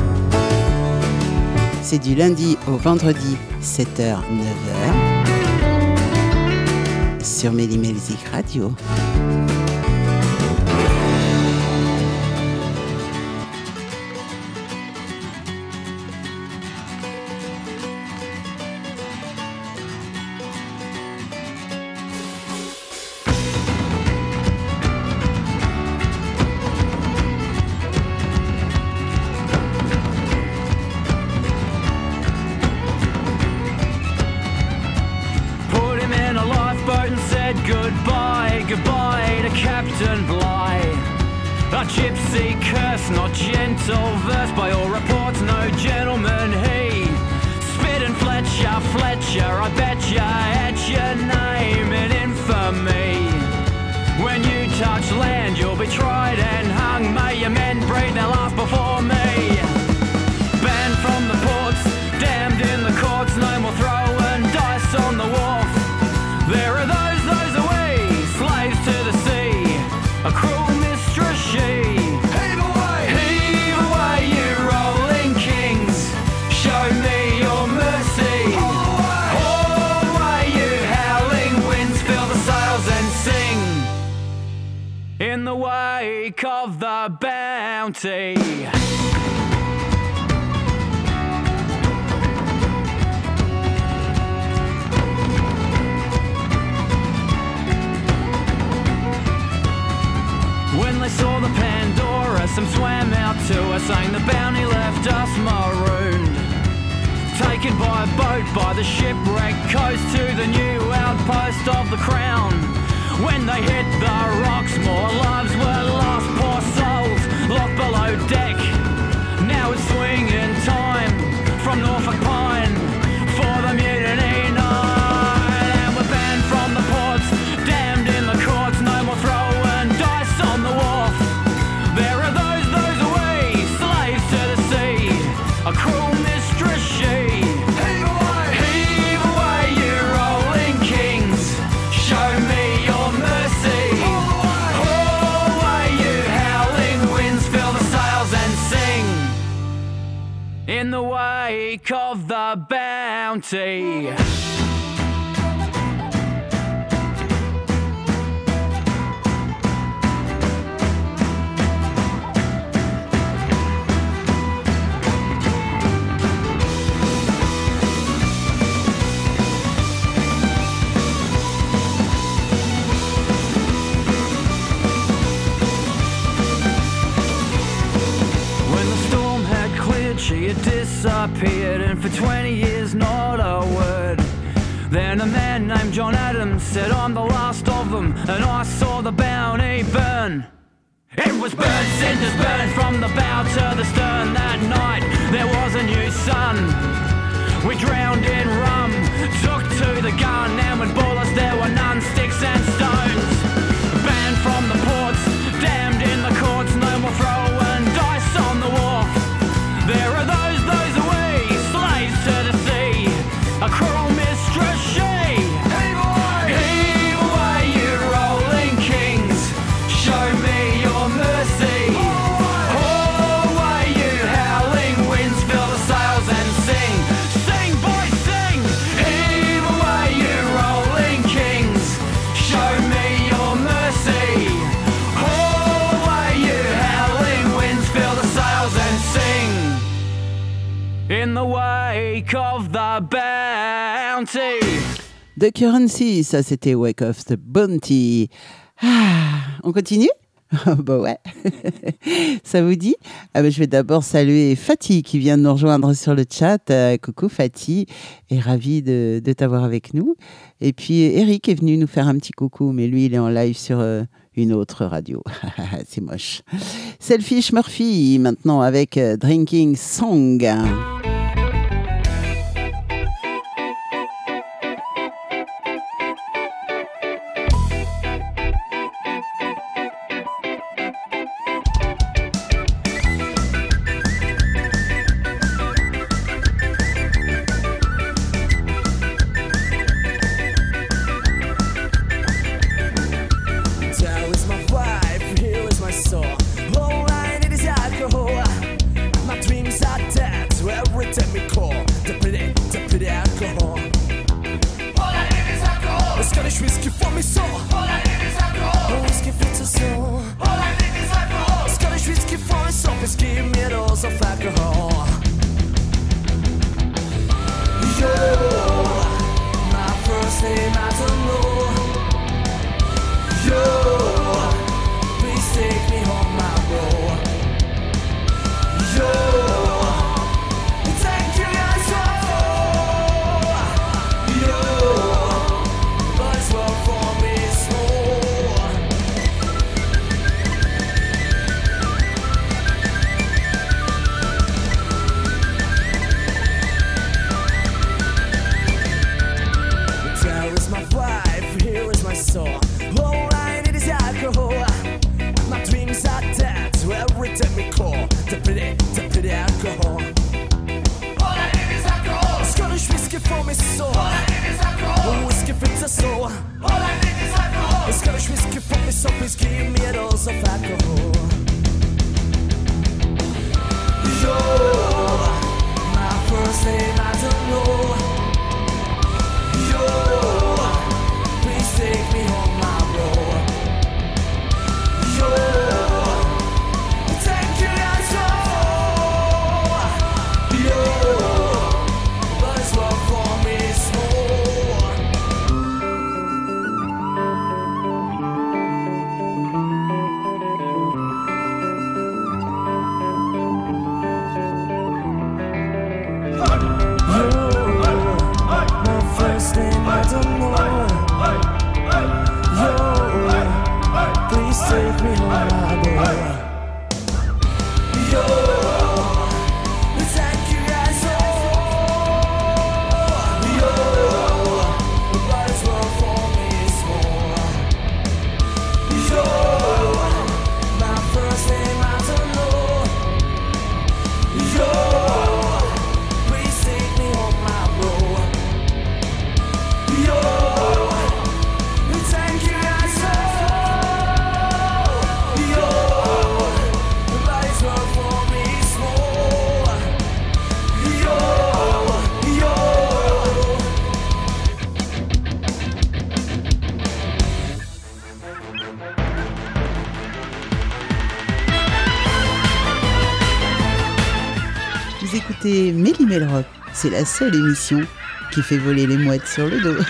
C'est du lundi au vendredi, sept heures neuf heures, sur Méli Music Radio. Goodbye, goodbye to Captain Bligh. A gypsy curse, not gentle verse. By all reports, no gentleman he. Spit and Fletcher, Fletcher, I bet ya had your name in infamy. When you touch land, you'll be tried and hung. May your men breathe their last before me. Banned from the ports, damned in the courts. No more throwing dice on the wharf. There are those to the sea, a cruel mistress she. Heave away, heave away, you rolling kings. Show me your mercy. Haul away, haul away, you howling winds. Fill the sails and sing in the wake of the Bounty. When they saw the Pandora, some swam out to us, saying the Bounty left us marooned. Taken by a boat by the shipwrecked coast to the new outpost of the Crown. When they hit the rocks, more lives were lost, poor souls locked below deck. Now it's swinging time from Norfolk Pine for the mutiny night. And we're banned from the ports, damned in the courts, no more throwing dice on the wharf. There are those, those away, slaves to the sea, a cruel mistress she. Heave away, heave away, you rolling kings. Show me your mercy. Haul away, haul away, you howling winds. Fill the sails and sing in the wake of the Bounty. She had disappeared, and for twenty years not a word. Then a man named John Adams said, I'm the last of them, and I saw the Bounty burn. It was burnt, cinders burned from the bow to the stern. That night there was a new sun. We drowned in rum, took to the gun, and with bullets there were none, sticks and stones. Banned from the ports, damned in the courts, no more throwing dice on the wharf. There are those, those away, slaves to the sea, a cruel mistress she. Heave away, heave away, you rolling kings. Show me your mercy. Haul away, you howling winds. Fill the sails and sing. Sing, boys, sing. Heave away, you rolling kings. Show me your mercy. Haul away, you howling winds. Fill the sails and sing in the wake of the Bounty. The Currency, ça c'était Wake of the Bounty. Ah, on continue? Bah ouais, ça vous dit? Ah bah, je vais d'abord saluer Fatih qui vient de nous rejoindre sur le chat. Euh, coucou Fatih, et ravi de, de t'avoir avec nous. Et puis Eric est venu nous faire un petit coucou, mais lui il est en live sur euh, une autre radio. C'est moche. Selfish Murphy maintenant avec euh, Drinking Song. That was my vibe, here was my soul. All I need is alcohol. needles of alcohol. You're my first name, I don't know. You're, please take me home, my bro. You're, thank you guys all. You're, but it's well for me small. There is my wife, here is my soul. All I need is alcohol. My dreams are dead, so every time we call to pity, to pity alcohol. All I need is alcohol. Scottish whiskey for me soul. All I need is alcohol. Whiskey fits a soul. All I need is alcohol. Scottish whiskey for me soul. Please give me a dose of alcohol. You're my first name, I don't know. You're, please take me home, my bro. You're, thank you guys all. You're, but it's well for me small. My first name, I don't know. Yo, please take me home, my boy. Yo, thank you guys all. Yo, but it's well for me small. Yo, my first name, I don't know. Yo, please take me home, my bro. Yo, thank you guys all. Yo, but it's well for me small. Yo, yo. Vous écoutez Méli Melrock, c'est la seule émission qui fait voler les mouettes sur le dos.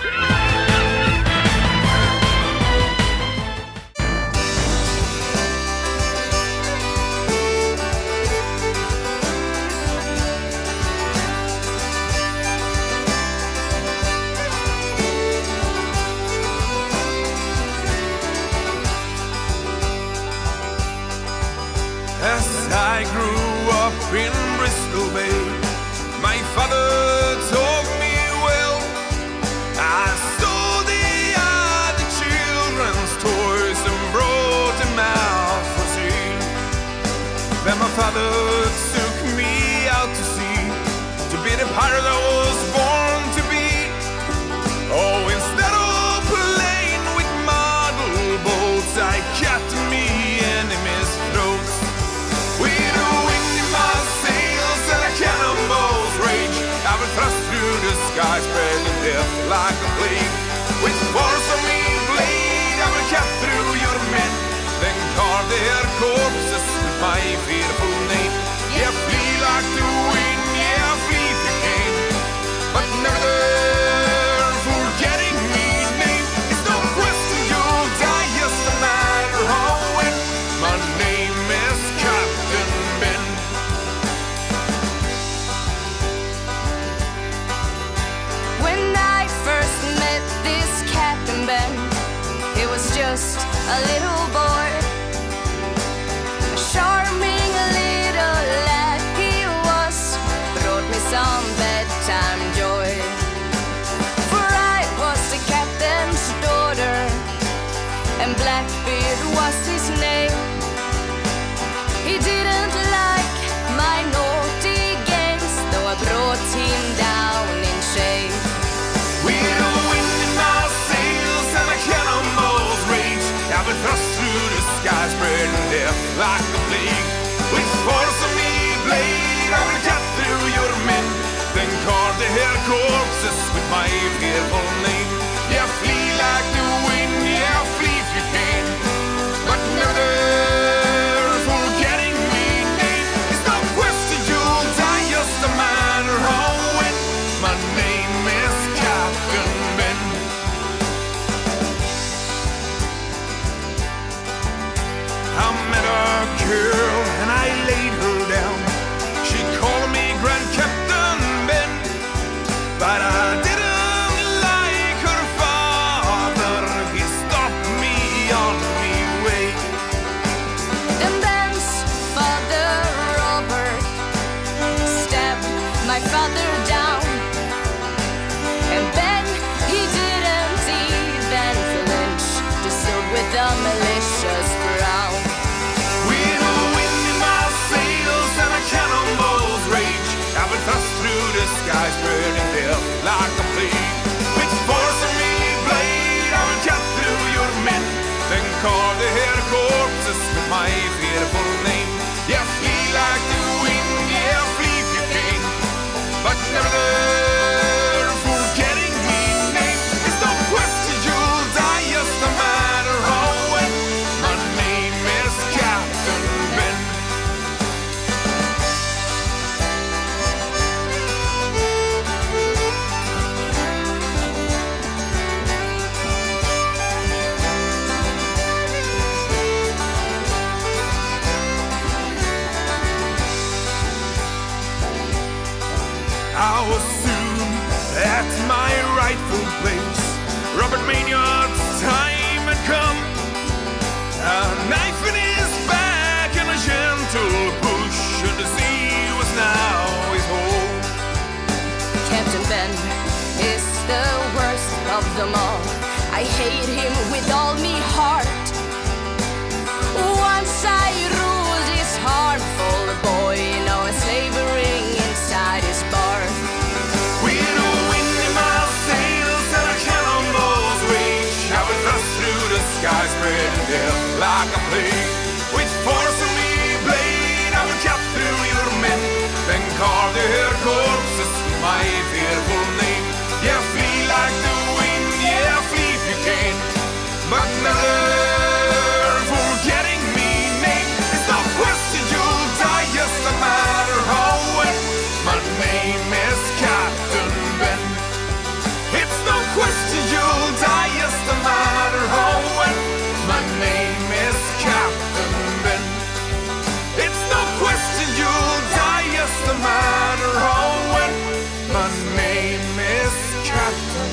As I grew up in Bristol Bay, my father told me well, I saw the other children's toys and brought them out for sale. Then my father took me out to sea, to be the pirate I was born to be. Oh, instead of playing with model boats, I cut me enemies' throats. With the wind in my sails and a cannonball's rage, I will thrust through the sky, spreading death like a plague. With force of me blade, I will cut through your men, then carve their corpses with my fearful name. Yeah, flee like the wind, yeah, flee if you can, but never forgetting me name. It's no question you'll die, just no matter how when. My name is Captain Ben. When I first met this Captain Ben, he was just a little boy, a charming little lad he was, brought me some bedtime joy. For I was the captain's daughter, and Blackbeard was his name. He didn't like my naughty games, though I brought him down in shame. With the wind in my sails and a cannonball's rage, I will thrust through the sky, spreading death like a plague. With force of me blade, I will cut through your men, then carve their corpses with my fearful name. Yeah, flee like the wind, yeah, flee if you can, but never forgetting me name. It's no I was soon at my rightful place. Robert Maynard's time had come. A knife in his back and a gentle push, and the sea was now his home. Captain Ben is the worst of them all. I hate him with all me heart. Once I ruled his harmful boy, now I'm slavering inside his bar. With a wind in my sails and a cannonball's rage, I would thrust through the sky, spreading death like a plague. With force of me blade, I would cut through your men, then carve their corpses with my fearful name. Yeah, flee like the wind, yeah, flee if you can, but never forgetting me name. It's no question you'll die, just no matter how when. My name is Captain Ben. It's no question you'll die, just no matter how when. My name is Captain Ben. It's no question you'll die, just no matter how when. My name is Captain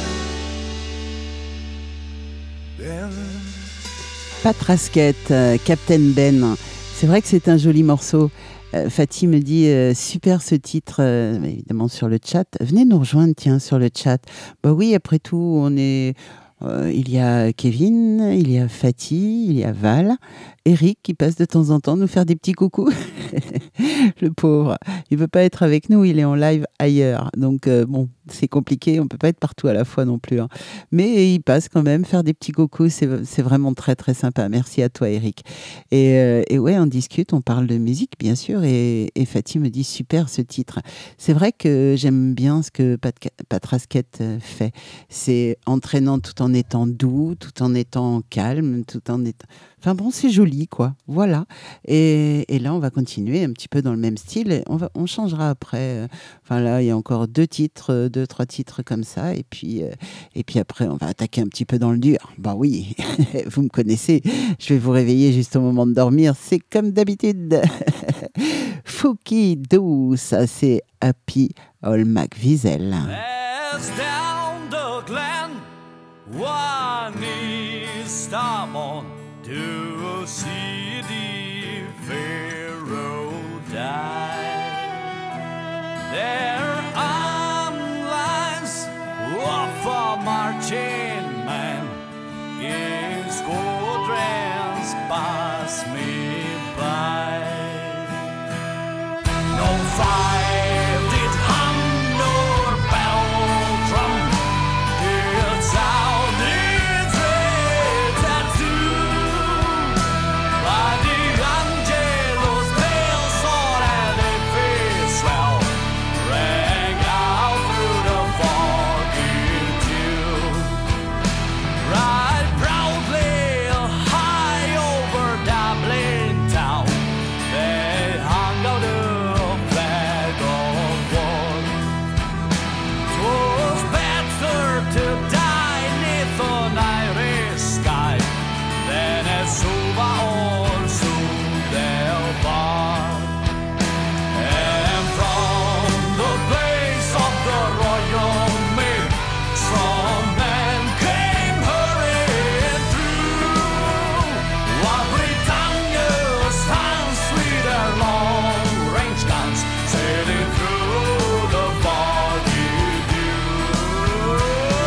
Ben. Pat Rasket, euh, Captain Ben. C'est vrai que c'est un joli morceau. Euh, Fatih me dit euh, super ce titre, euh, évidemment sur le chat. Venez nous rejoindre, tiens, sur le chat. Bah oui, après tout, on est. Euh, il y a Kevin, il y a Fatih, il y a Val, Eric qui passe de temps en temps nous faire des petits coucous. Le pauvre, il veut pas être avec nous, il est en live ailleurs. Donc euh, bon, c'est compliqué, on peut pas être partout à la fois non plus. Hein. Mais il passe quand même faire des petits coucous, c'est, c'est vraiment très très sympa. Merci à toi Eric. Et, euh, et ouais, on discute, on parle de musique bien sûr. Et, et Fatih me dit super ce titre. C'est vrai que j'aime bien ce que Pat, Pat Rasket fait. C'est entraînant tout en étant doux, tout en étant calme, tout en étant... Enfin bon, c'est joli, quoi. Voilà. Et, et là, on va continuer un petit peu dans le même style. Et on, va, on changera après. Enfin là, il y a encore deux titres, deux, trois titres comme ça. Et puis, euh, et puis après, on va attaquer un petit peu dans le dur. Bah oui, vous me connaissez. Je vais vous réveiller juste au moment de dormir. C'est comme d'habitude. Fouki Dou, ça c'est Happy All McVizel. As down the glen, one is stop on to see the Pharaoh die. Their arm lines of a marching man, in squadrons pass me by. No five did hum nor bell drum, did sound its red tattoo. By the Angelo's pale sword and a face swell rang out through the foggy dew. Right proudly high over Dublin town, they hung out a flag of war. 'Twas better to die 'neath an Irish sky than at Suva or Sudelbar. And from the place of the royal maid, strong men came hurrying through, while Britannia stands with their long-range guns, sailing through the foggy dew.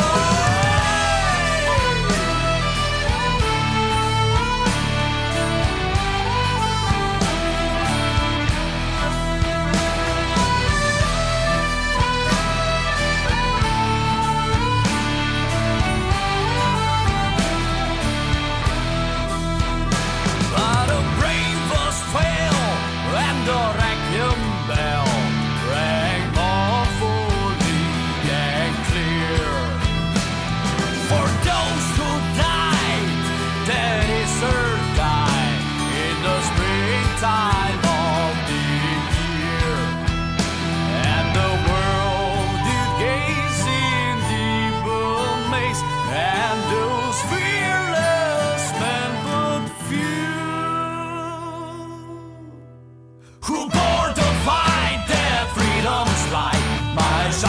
But the bravest fell, and the requiem bell rang mournfully and clear. For those who died, that is her die in the springtime of the year. And the world did gaze in deep amaze, and those fearless men but few, who bore to fight their freedom's light. My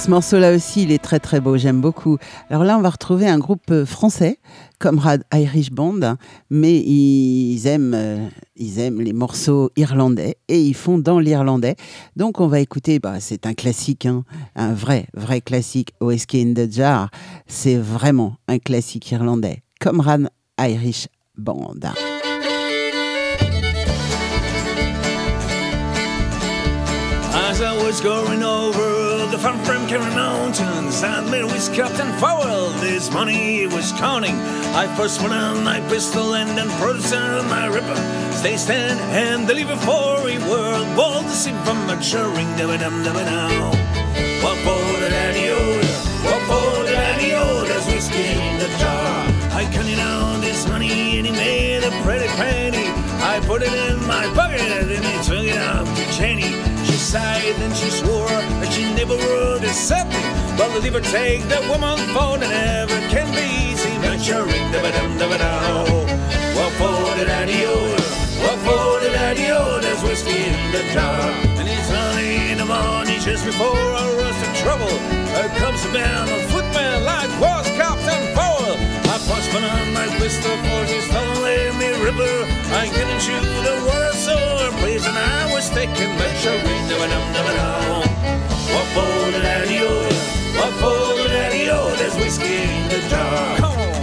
Ce morceau-là aussi, il est très très beau, j'aime beaucoup. Alors là, on va retrouver un groupe français, Comrade Irish Band, mais ils aiment, euh, ils aiment les morceaux irlandais et ils font dans l'irlandais. Donc on va écouter, bah, c'est un classique, hein, un vrai, vrai classique, Whiskey in the Jar. C'est vraiment un classique irlandais, Comrade Irish Band. As I was going over the farm from Kerry Mountains, I met with Captain Fowell. This money he was counting. I first put on my pistol and then produced my ripper. Stay stand and deliver for a world. Ball to see from maturing. Dum dum dum now. What for the daddy-o? What for the daddy-o? There's whiskey in the jar. I counted out this money and he made a pretty penny. I put it in my pocket and he took it out to Jenny. She sighed and she swore that she never would accept me. But the liver take the woman for that never can be. See maturing, da ba dum da ba da. What for the daddy-o? What for the daddy-o? There's whiskey in the jar. And it's early in the morning just before I rush to trouble. Here comes a man, a footman like was Captain Fowell. I pushed on my pistol for she's telling me river. I couldn't shoot the water so please and I was taking maturing, da ba dum da ba da. What for the daddy-o? What for the daddy-o? There's whiskey in the jar. Come on.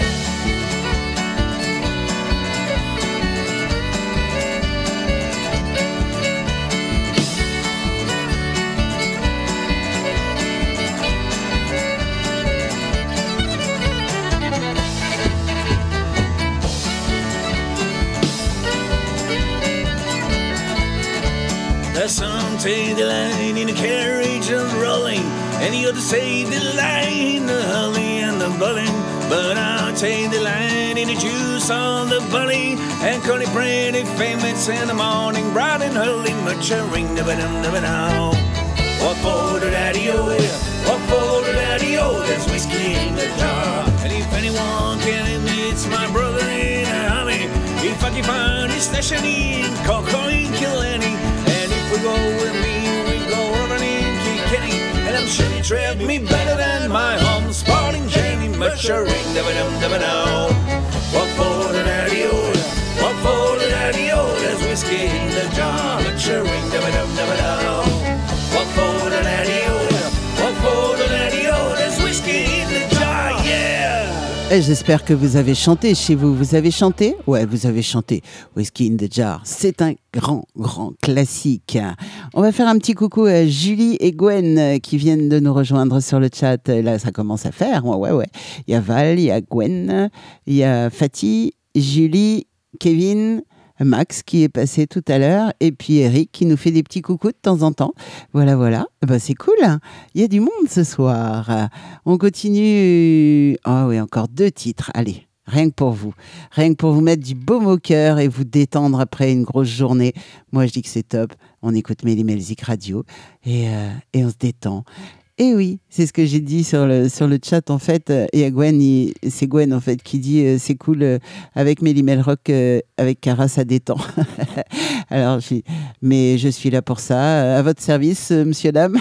Some take the line in the carriage and rolling, and the other say the line, the hully and the bowling. But I'll take the line in the juice on the bully, and call it pretty famous in the morning, bright and early, maturing, da ba dum da ba da. What for the daddy-o? What for the daddy-o? There's whiskey in the jar. And if anyone can admit it's my brother in a army, if I can find his station in Cocoa Killenny. We go with me, we go running in Kilkenny, and I'm sure he treat me better than my home sporting Jenny, maturing, da ba dum da ba da. What for the daddy-o? What for the daddy-o? There's whiskey in the jar, maturing, da ba dum da ba da. What for the daddy-o? What for the daddy-o? There's whiskey in the jar, yeah. Et j'espère que vous avez chanté chez vous. Vous avez chanté ? Ouais, vous avez chanté Whiskey in the Jar. C'est un grand, grand classique. On va faire un petit coucou à Julie et Gwen qui viennent de nous rejoindre sur le chat. Là, ça commence à faire. Ouais, ouais, ouais. Il y a Val, il y a Gwen, il y a Fatih, Julie, Kevin, Max qui est passé tout à l'heure et puis Eric qui nous fait des petits coucous de temps en temps. Voilà, voilà. Ben, c'est cool. Il y a du monde ce soir. On continue. Ah oui, encore deux titres. Allez, rien que pour vous. Rien que pour vous mettre du baume au cœur et vous détendre après une grosse journée. Moi, je dis que c'est top. On écoute Méli Melzik Radio et, euh, et on se détend. Et oui, c'est ce que j'ai dit sur le, sur le chat en fait. Et à Gwen, il, c'est Gwen en fait qui dit euh, c'est cool euh, avec Méli Melrock, euh, avec Cara, ça détend. Alors, je, mais je suis là pour ça. À votre service, euh, monsieur, dame.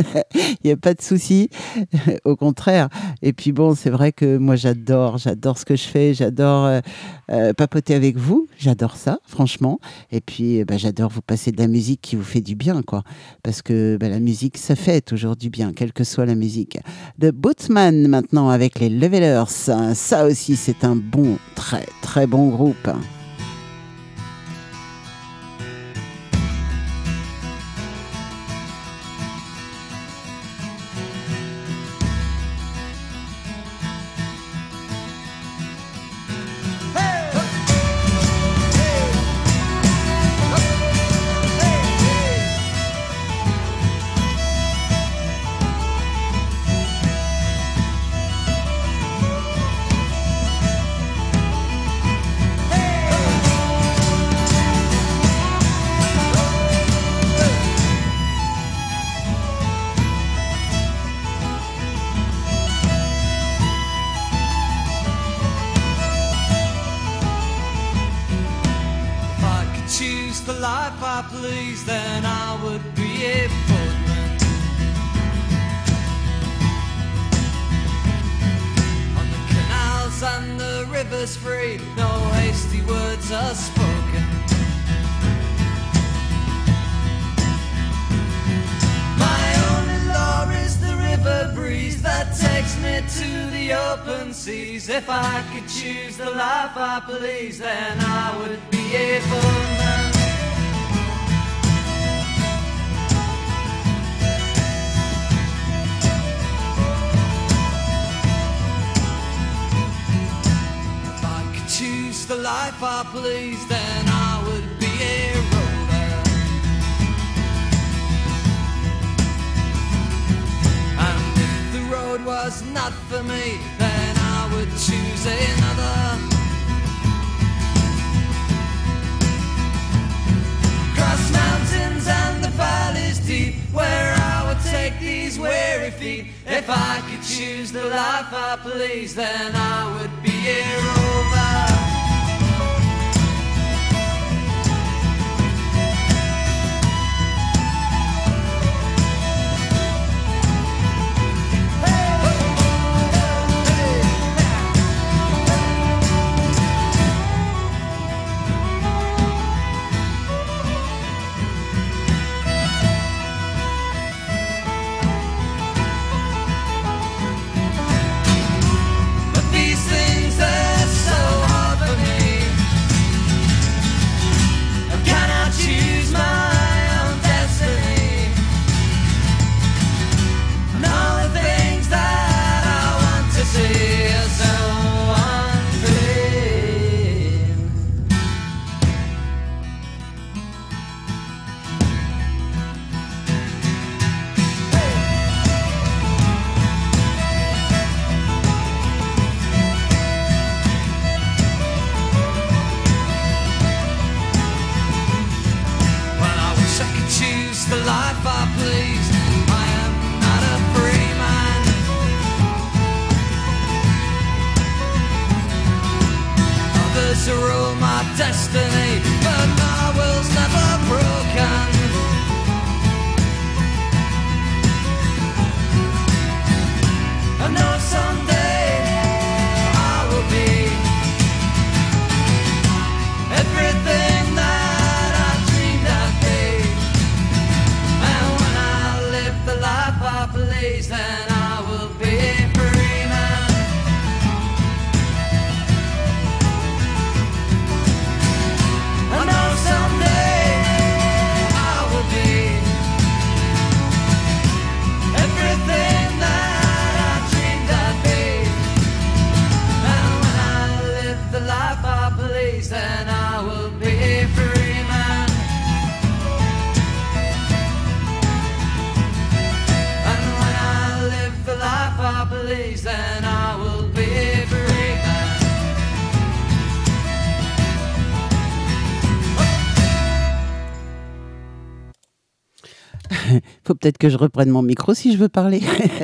Il n'y a pas de souci. Au contraire. Et puis bon, c'est vrai que moi j'adore, j'adore ce que je fais. J'adore euh, euh, papoter avec vous. J'adore ça, franchement. Et puis, bah, j'adore vous passer de la musique qui vous fait du bien, quoi. Parce que bah, la musique, ça fait toujours du bien. Quelle que soit la musique. The Bootsman maintenant avec les Levelers. Ça aussi c'est un bon, très très bon groupe. Please, then I would be a footman. us free, no hasty words are spoken. My only law is the river breeze that takes me to the open seas. If I could choose the life I please, then I would be a full man. Choose the life I please, then I would be a rover. And if the road was not for me, then I would choose another. Cross mountains and the valleys deep, where I would take these weary feet. If I could choose the life I please, then I would be a rover. To rule my destiny, but my will's never broken. I know someday I will be everything that I dreamed I'd be. And when I live the life I please, then I will be a free man. I know someday I will be everything that I dreamed I'd be. And when I live the life I please, then I will be a free man. And when I live the life I please, then I will be a free man. Faut peut-être que je reprenne mon micro si je veux parler.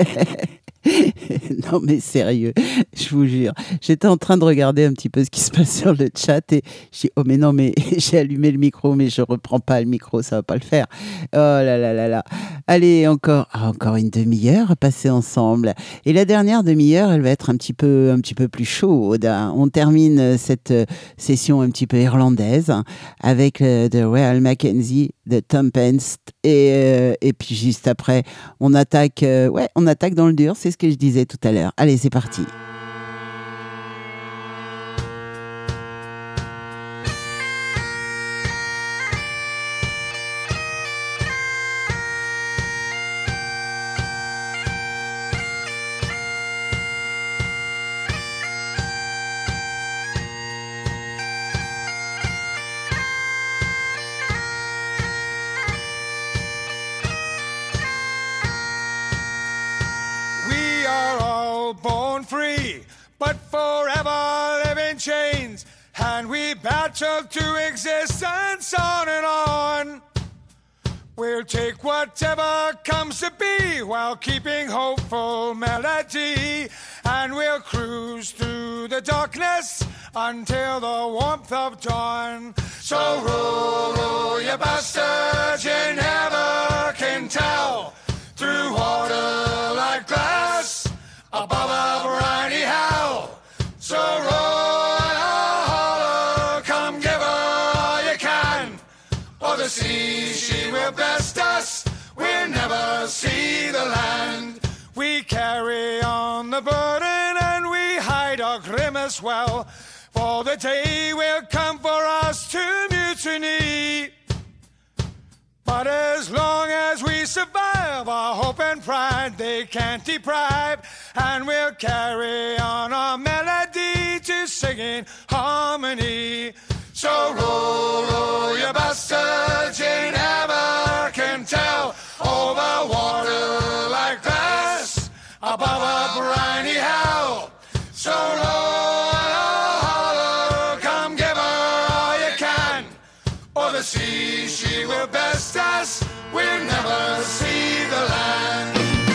Non mais sérieux, je vous jure. J'étais en train de regarder un petit peu ce qui se passe sur le chat et je dis oh mais non mais j'ai allumé le micro mais je reprends pas le micro, ça va pas le faire. Oh là là là là. Allez encore, ah, encore une demi-heure à passer ensemble. Et la dernière demi-heure, elle va être un petit peu, un petit peu plus chaude. On termine cette session un petit peu irlandaise avec euh, The Royal Mackenzie de Tom Pence et euh, et puis juste après on attaque, euh, ouais on attaque dans le dur. C'est ce que je disais tout à l'heure. Allez, c'est parti. but forever live in chains, and we battle to existence on and on. We'll take whatever comes to be while keeping hopeful melody, and we'll cruise through the darkness until the warmth of dawn. So roll, roll, you bastards, you never can tell, through water like glass, above a briny hell. So roll never see the land. We carry on the burden and we hide our grimace well, for the day will come for us to mutiny. But as long as we survive, our hope and pride they can't deprive, and we'll carry on our melody to sing in harmony. So roll, roll your bastards, you never can tell, over water like glass, above a briny hell. So roll, hollow, come give her all you can, or the sea she will best us, we'll never see the land.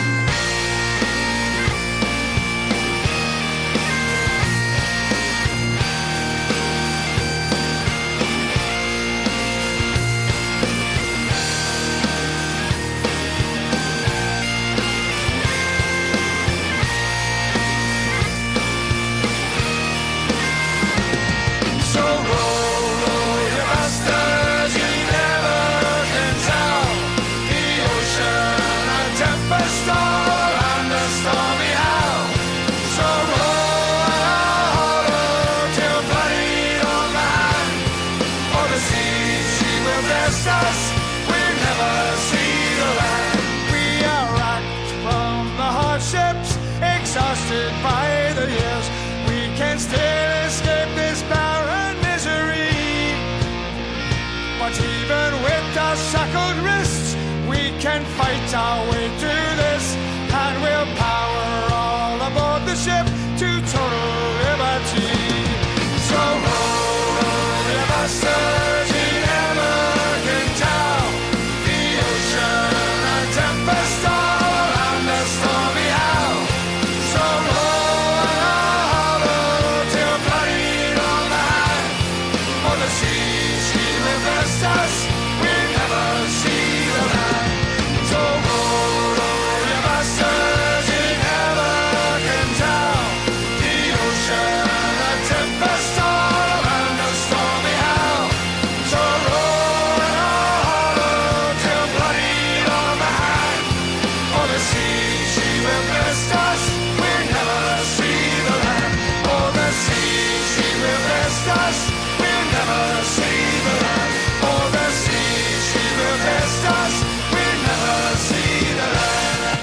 Exhausted by the years, we can still escape this barren misery. But even with our shackled wrists, we can fight our way through this, and we'll power all aboard the ship to total liberty. So roll, roll your bastards, you never can tell, the ocean a tempest all around the stormy howl. So roll hollow till bloodied on the hand, for the sea she will best us, we'll never see the land. So roll, roll your bastards, you never can tell, the ocean a tempest all around the stormy howl. So roll hollow till bloodied on the hand, for the sea she will best us, we'll never see the land. Oh, the sea she will best us, we'll never see the land. Oh, the sea she will best us, we'll never see the land.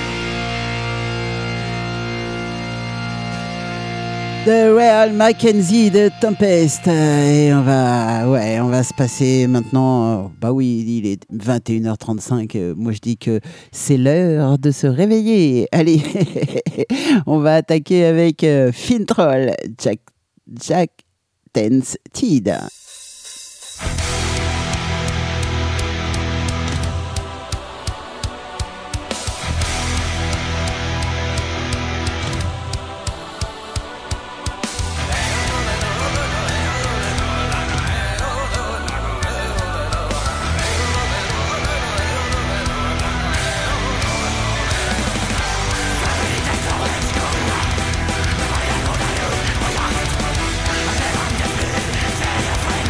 The Real Mackenzie de Tempest. Et on va, ouais, on va se passer maintenant. Bah oui, il est vingt et une heures trente-cinq. Moi, je dis que c'est l'heure de se réveiller. Allez, on va attaquer avec euh, Fintroll, Jack, Jack Tense Tide. Let's go.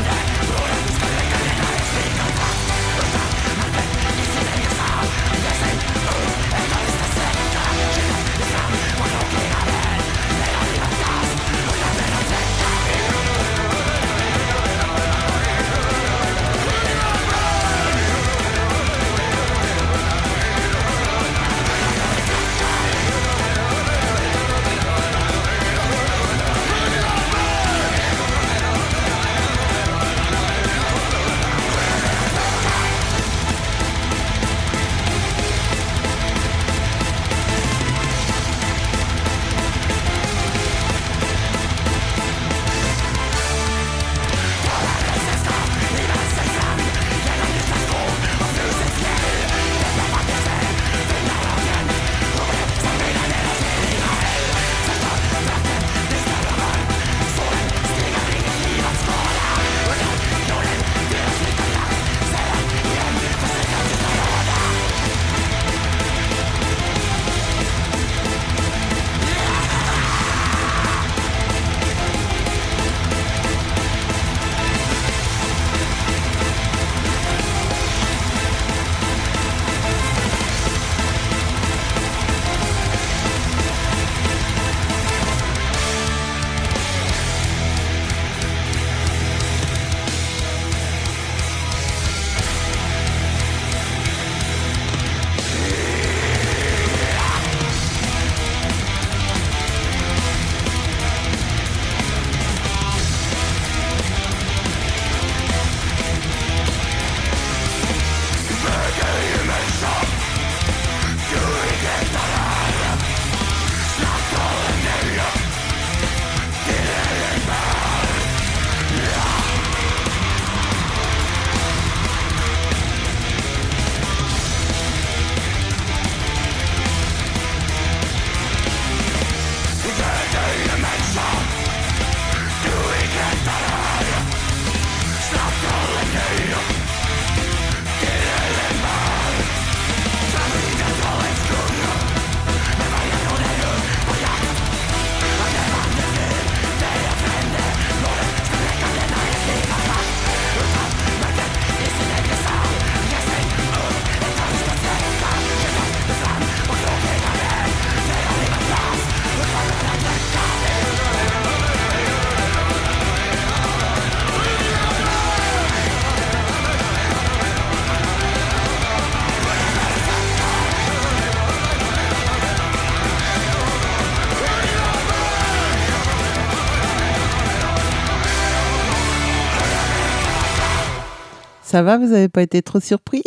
Ça va, vous n'avez pas été trop surpris?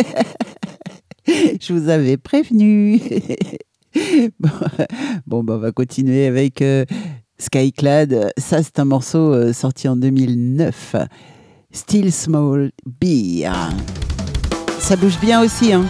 Je vous avais prévenu. Bon, bon bah, on va continuer avec euh, Skyclad. Ça, c'est un morceau euh, sorti en deux mille neuf. Still Small Beer. Ça bouge bien aussi, hein.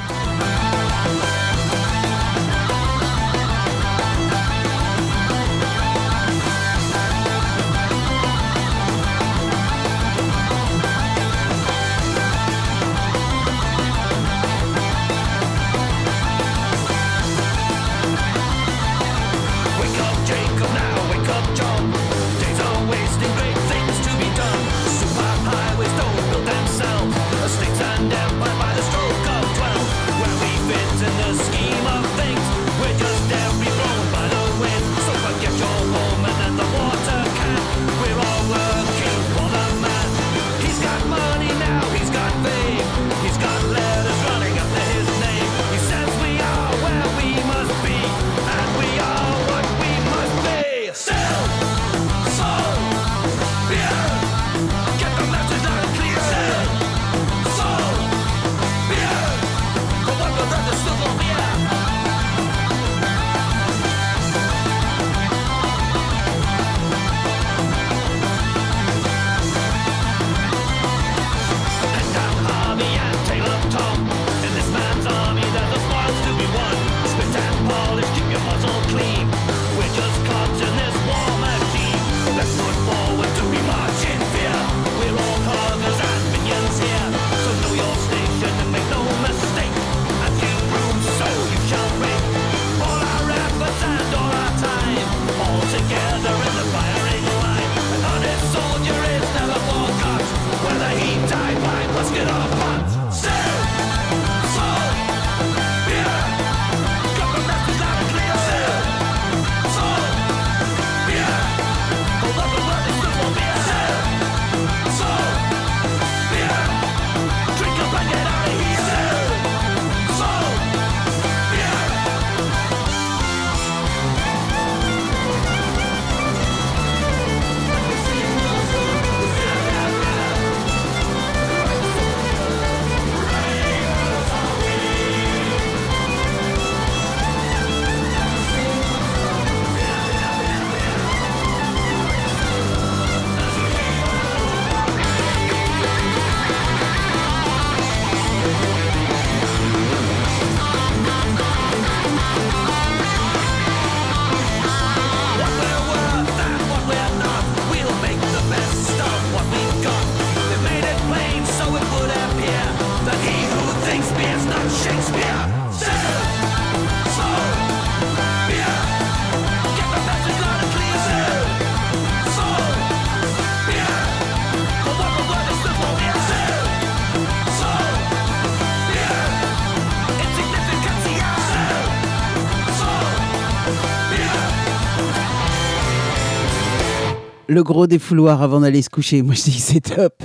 Le gros défouloir avant d'aller se coucher. Moi, je dis que c'est top.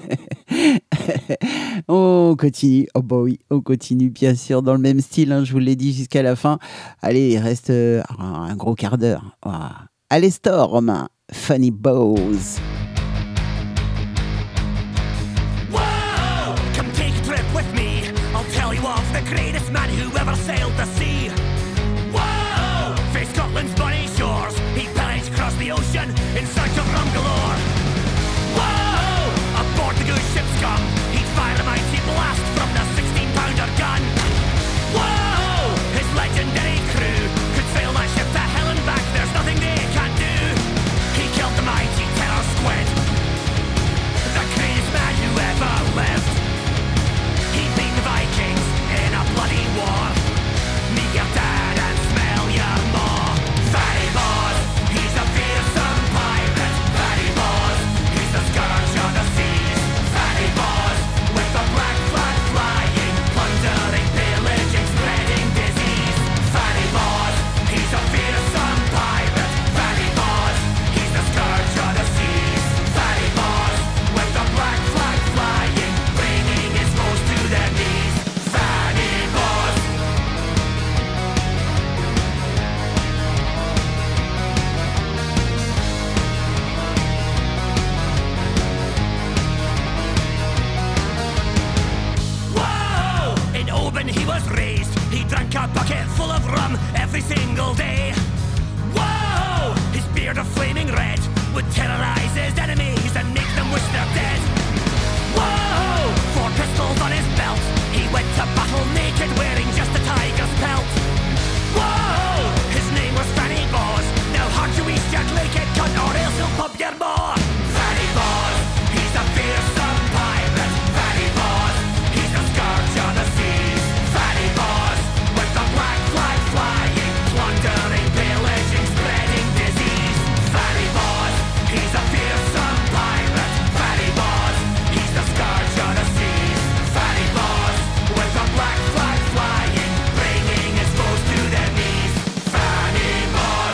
On continue. Oh bah oui, on continue bien sûr dans le même style. Hein, je vous l'ai dit jusqu'à la fin. Allez, il reste euh, un gros quart d'heure. Oh. Allez, Storm, Funny Bows. Whoa! Come take a trip with me. I'll tell you of the greatest man who ever sailed the sea. Whoa! For Scotland's bonny shores, he pillaged across the ocean in search of rum galore. Whoa! Aboard the good ship's scum, he'd fire a mighty blast from the sixteen-pounder gun. Whoa! His legendary crew could sail that ship to hell and back. There's nothing they can't do. He killed the mighty terror squid, the greatest man who ever lived. He beat the Vikings in a bloody war. was raised, he drank a bucket full of rum every single day. Whoa! His beard of flaming red would terrorize his enemies and make them wish they're dead. Whoa! Four pistols on his belt, he went to battle naked wearing just a tiger's pelt. Whoa! His name was Fanny Boss. Now hard to east Jack Lake it cunt or else he'll pump your maw. Fanny Boss, he's a fearsome pirate. Fanny Boss, he's a scourge on the seas. Fanny Boss, with the black flag flying, plundering, pillaging, spreading disease. Fanny Boss, he's a fearsome pirate. Fanny Boss, he's the scourge on the seas. Fanny Boss, with the black flag flying, bringing his foes to their knees. Fanny Boss,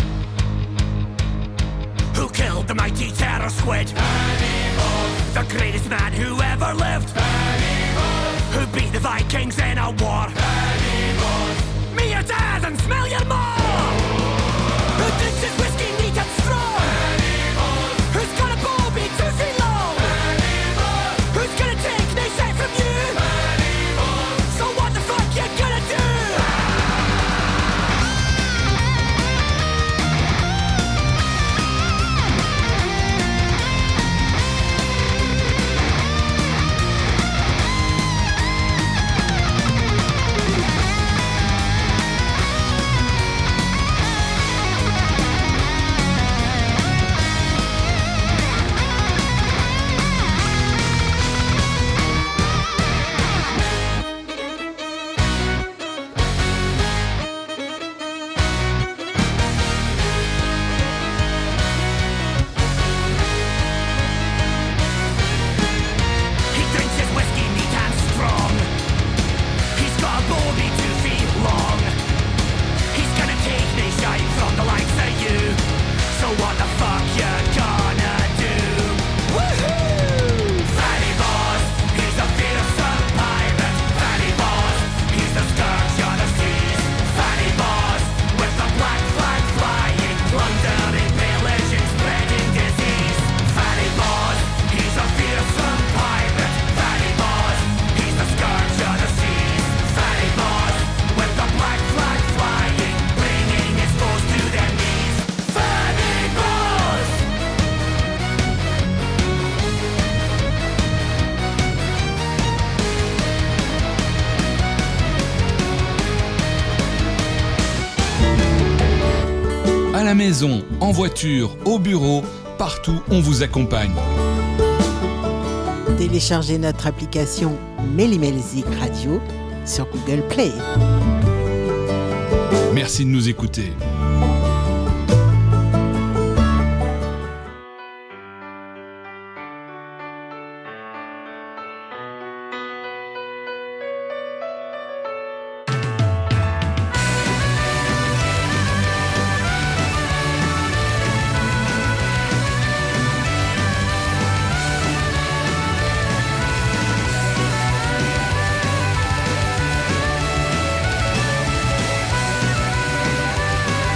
who killed the mighty terror squid. Fanny Boss, the greatest man who ever lived. Fanny Boss, who beat the Vikings in a war. Fanny Boss, me your dad and smell your maw. Who drinks his whiskey neat and strong. Fanny Boss, who's got a bobby two feet long. Fanny Boss, who's gonna take no shit from you. Fanny Boss, so what the fuck you gonna do? He drinks his whiskey neat and strong. He's got a bobby two feet long. He's gonna take me shine from the likes of you. So what the fuck you gonna do? Woohoo! Fanny Boss, he's a fearsome pirate. Fanny Boss, he's the scourge on the seas. Fanny Boss, with the black flag flying, plundering, pillaging, spreading disease. Fanny Boss, he's a fearsome pirate. Fanny Boss, he's the scourge on the seas. Fanny Boss, with the black flag flying, bringing his foes to their knees. Fanny Boss! À la maison, en voiture, au bureau, partout on vous accompagne. Téléchargez notre application Mélimelzik Radio sur Google Play. Merci de nous écouter. Thank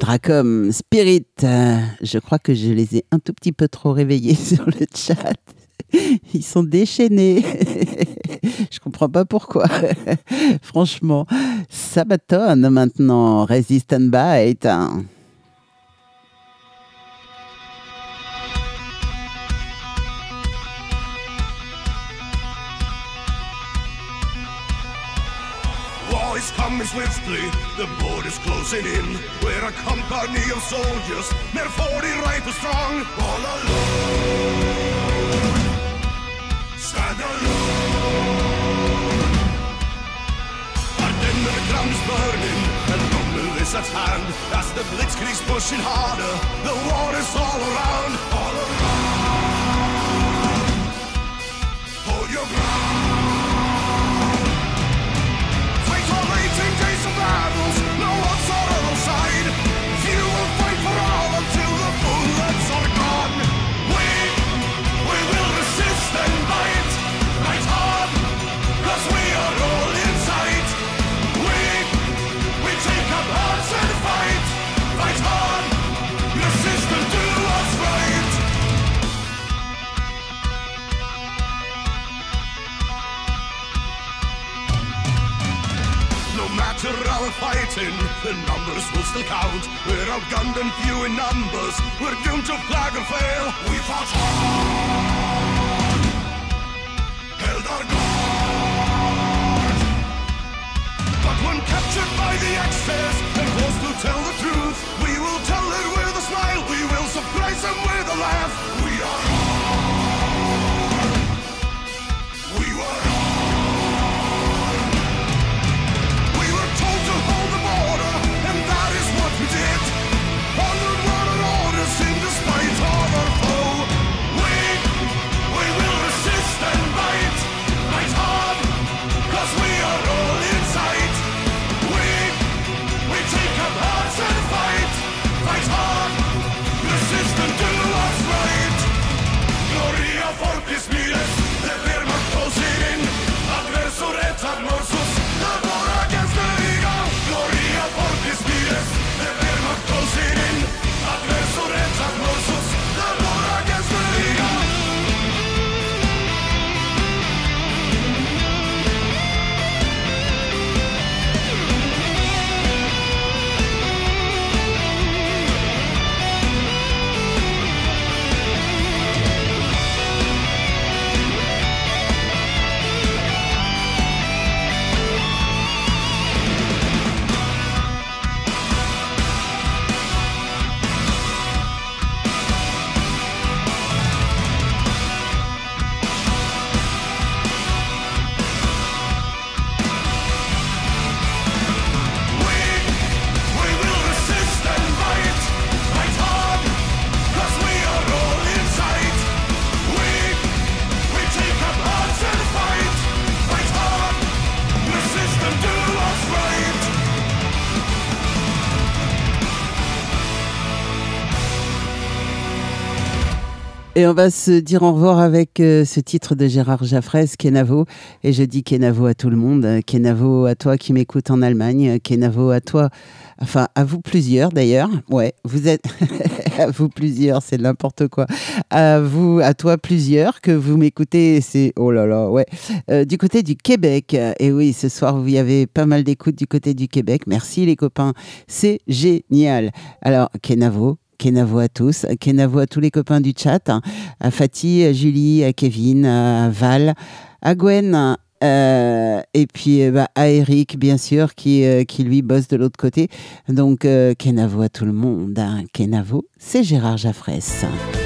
Dracom, Spirit, euh, je crois que je les ai un tout petit peu trop réveillés sur le chat. Ils sont déchaînés. Je comprends pas pourquoi. Franchement, Sabaton maintenant, Resist and Bite. War is coming swiftly, the border's closing in. We're a company of soldiers, near forty rifles strong. All alone, stand alone. Our dinner ground is burning, and rumble is at hand. As the blitzkrieg's pushing harder, the war is all around. All around, hold your ground. Days of battles, no one's on our side. You will fight for all until the bullets are gone. We, we will resist and fight, fight hard, cause we are all inside. We, we take up arms and fight, fight hard, resist and do what's right. No matter our fighting, the numbers will still count. We're outgunned and few in numbers, we're doomed to flag or fail. We fought hard, held our guard. But when captured by the Axis and forced to tell the truth, we will tell it with a smile, we will surprise them with a laugh. We are hard, we were hard. To hold the border, and that is what we did. Honored what our orders in despite of our foe. We, we will resist and fight, fight hard, cause we are all inside. We, we take up arms and fight, fight hard, resist and do what's right. Gloria fortis miles, the Wehrmacht closing in. Adversor et admorsus, the war against the Gloria fortis miles, the Wehrmacht closing in. Adversor et admorsus, the war against the Liga. Et on va se dire au revoir avec euh, ce titre de Gérard Jaffrès, Kenavo. Et je dis Kenavo à tout le monde. Kenavo à toi qui m'écoute en Allemagne. Kenavo à toi, enfin à vous plusieurs d'ailleurs. Ouais, vous êtes à vous plusieurs, c'est n'importe quoi. À vous, à toi plusieurs que vous m'écoutez. C'est oh là là, ouais. Euh, du côté du Québec. Et oui, ce soir vous y avez pas mal d'écoute du côté du Québec. Merci les copains, c'est génial. Alors Kenavo. Kenavo à tous, Kenavo à tous les copains du chat, à Fatih, à Julie, à Kevin, à Val, à Gwen, euh, et puis bah, à Eric, bien sûr, qui, euh, qui lui bosse de l'autre côté. Donc, euh, Kenavo à tout le monde. Hein. Kenavo, c'est Gérard Jaffrès.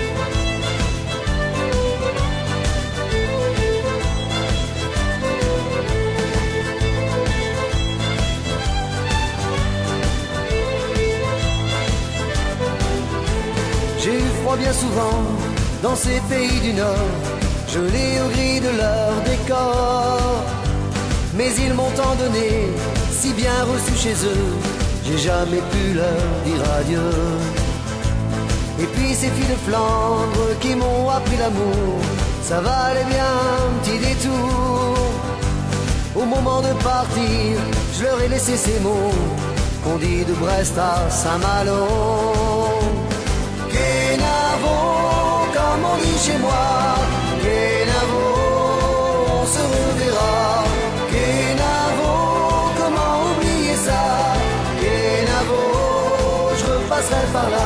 J'ai eu froid bien souvent dans ces pays du Nord, gelé au gris de leur décor. Mais ils m'ont tant donné, si bien reçu chez eux, j'ai jamais pu leur dire adieu. Et puis ces filles de Flandre qui m'ont appris l'amour, ça valait bien un petit détour. Au moment de partir, je leur ai laissé ces mots, qu'on dit de Brest à Saint-Malo. Kenavo, comme on dit chez moi, Kenavo, on se reverra. Kenavo, comment oublier ça? Kenavo, je repasserai par là.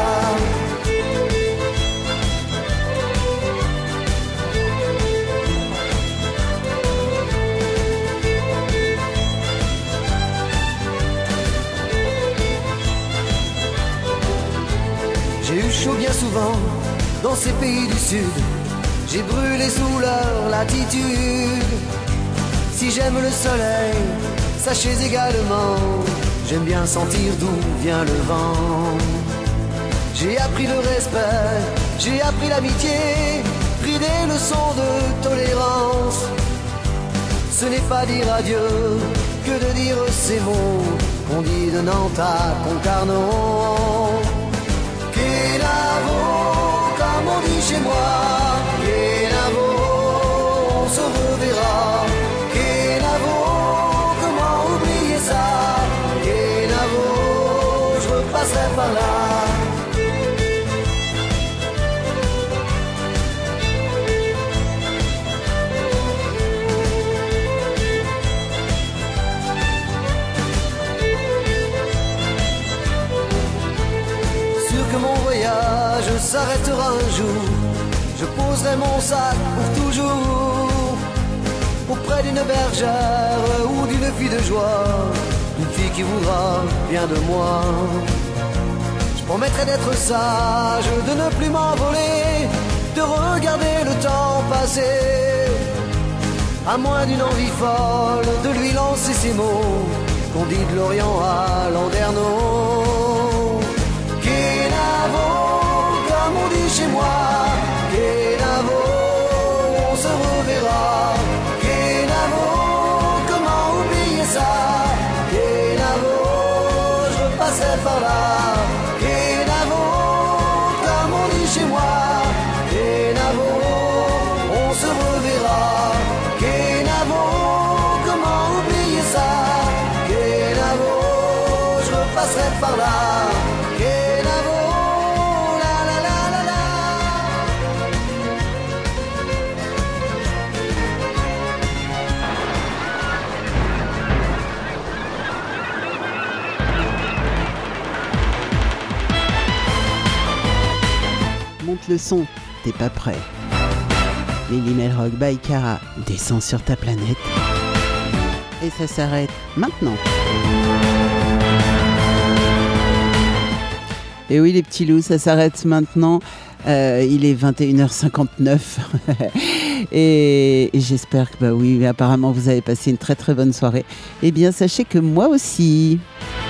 J'ai eu chaud bien souvent dans ces pays du Sud. J'ai brûlé sous leur latitude. Si j'aime le soleil, sachez également, j'aime bien sentir d'où vient le vent. J'ai appris le respect, j'ai appris l'amitié, pris des leçons de tolérance. Ce n'est pas dire adieu que de dire ces mots qu'on dit de Nantes à Concarneau. Kenavo, comme on dit chez moi, Kenavo, on se reverra. Kenavo, comment oublier ça? Kenavo, je repasserai par là. S'arrêtera un jour, je poserai mon sac pour toujours auprès d'une bergère ou d'une fille de joie, une fille qui voudra bien de moi. Je promettrai d'être sage, de ne plus m'envoler, de regarder le temps passer, à moins d'une envie folle de lui lancer ces mots qu'on dit de l'Orient à Landerneau. Kenavo, comme on dit chez moi, Kenavo, on se reverra. Kenavo, comment oublier ça? Kenavo, je repasserai par là. Kenavo, comme on dit chez moi, Kenavo, on se reverra. Kenavo, comment oublier ça? Kenavo, je repasserai par là. Monte le son, t'es pas prêt. Lily Melrock by Cara descend sur ta planète. Et ça s'arrête maintenant. Et oui les petits loups, ça s'arrête maintenant. Euh, il est vingt et une heures cinquante-neuf. et, et j'espère que bah oui, apparemment vous avez passé une très très bonne soirée. Eh bien sachez que moi aussi.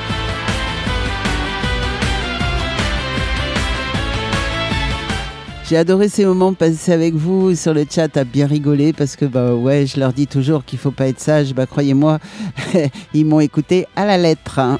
J'ai adoré ces moments passés avec vous sur le chat, à bien rigoler parce que bah ouais, je leur dis toujours qu'il faut pas être sage. Bah croyez-moi, ils m'ont écouté à la lettre. Hein.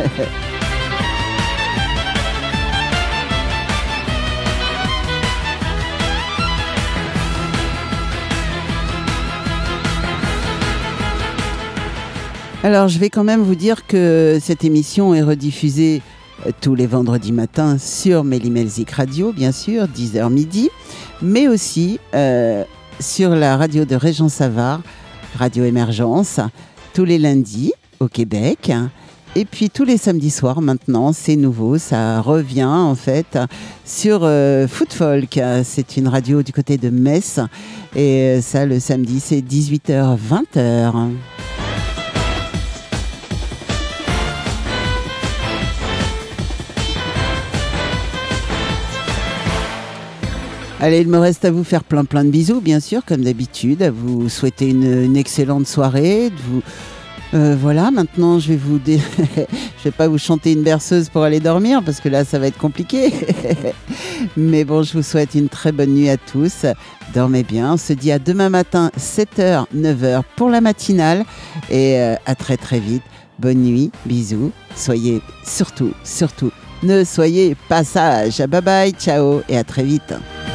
Alors je vais quand même vous dire que cette émission est rediffusée tous les vendredis matins sur Mélimelzik Radio, bien sûr, dix heures midi, mais aussi euh, sur la radio de Régent Savard, Radio Émergence, tous les lundis au Québec. Et puis tous les samedis soirs maintenant, c'est nouveau, ça revient en fait sur euh, Footfolk. C'est une radio du côté de Metz. Et ça, le samedi, c'est dix-huit heures vingt heures. Allez, il me reste à vous faire plein plein de bisous, bien sûr, comme d'habitude, à vous souhaiter une, une excellente soirée. De vous, euh, voilà, maintenant je vais vous, dé... je vais pas vous chanter une berceuse pour aller dormir parce que là ça va être compliqué. Mais bon, je vous souhaite une très bonne nuit à tous. Dormez bien. On se dit à demain matin, sept heures, neuf heures pour la matinale et euh, à très très vite. Bonne nuit, bisous. Soyez surtout, surtout, ne soyez pas sages. Bye bye, ciao et à très vite.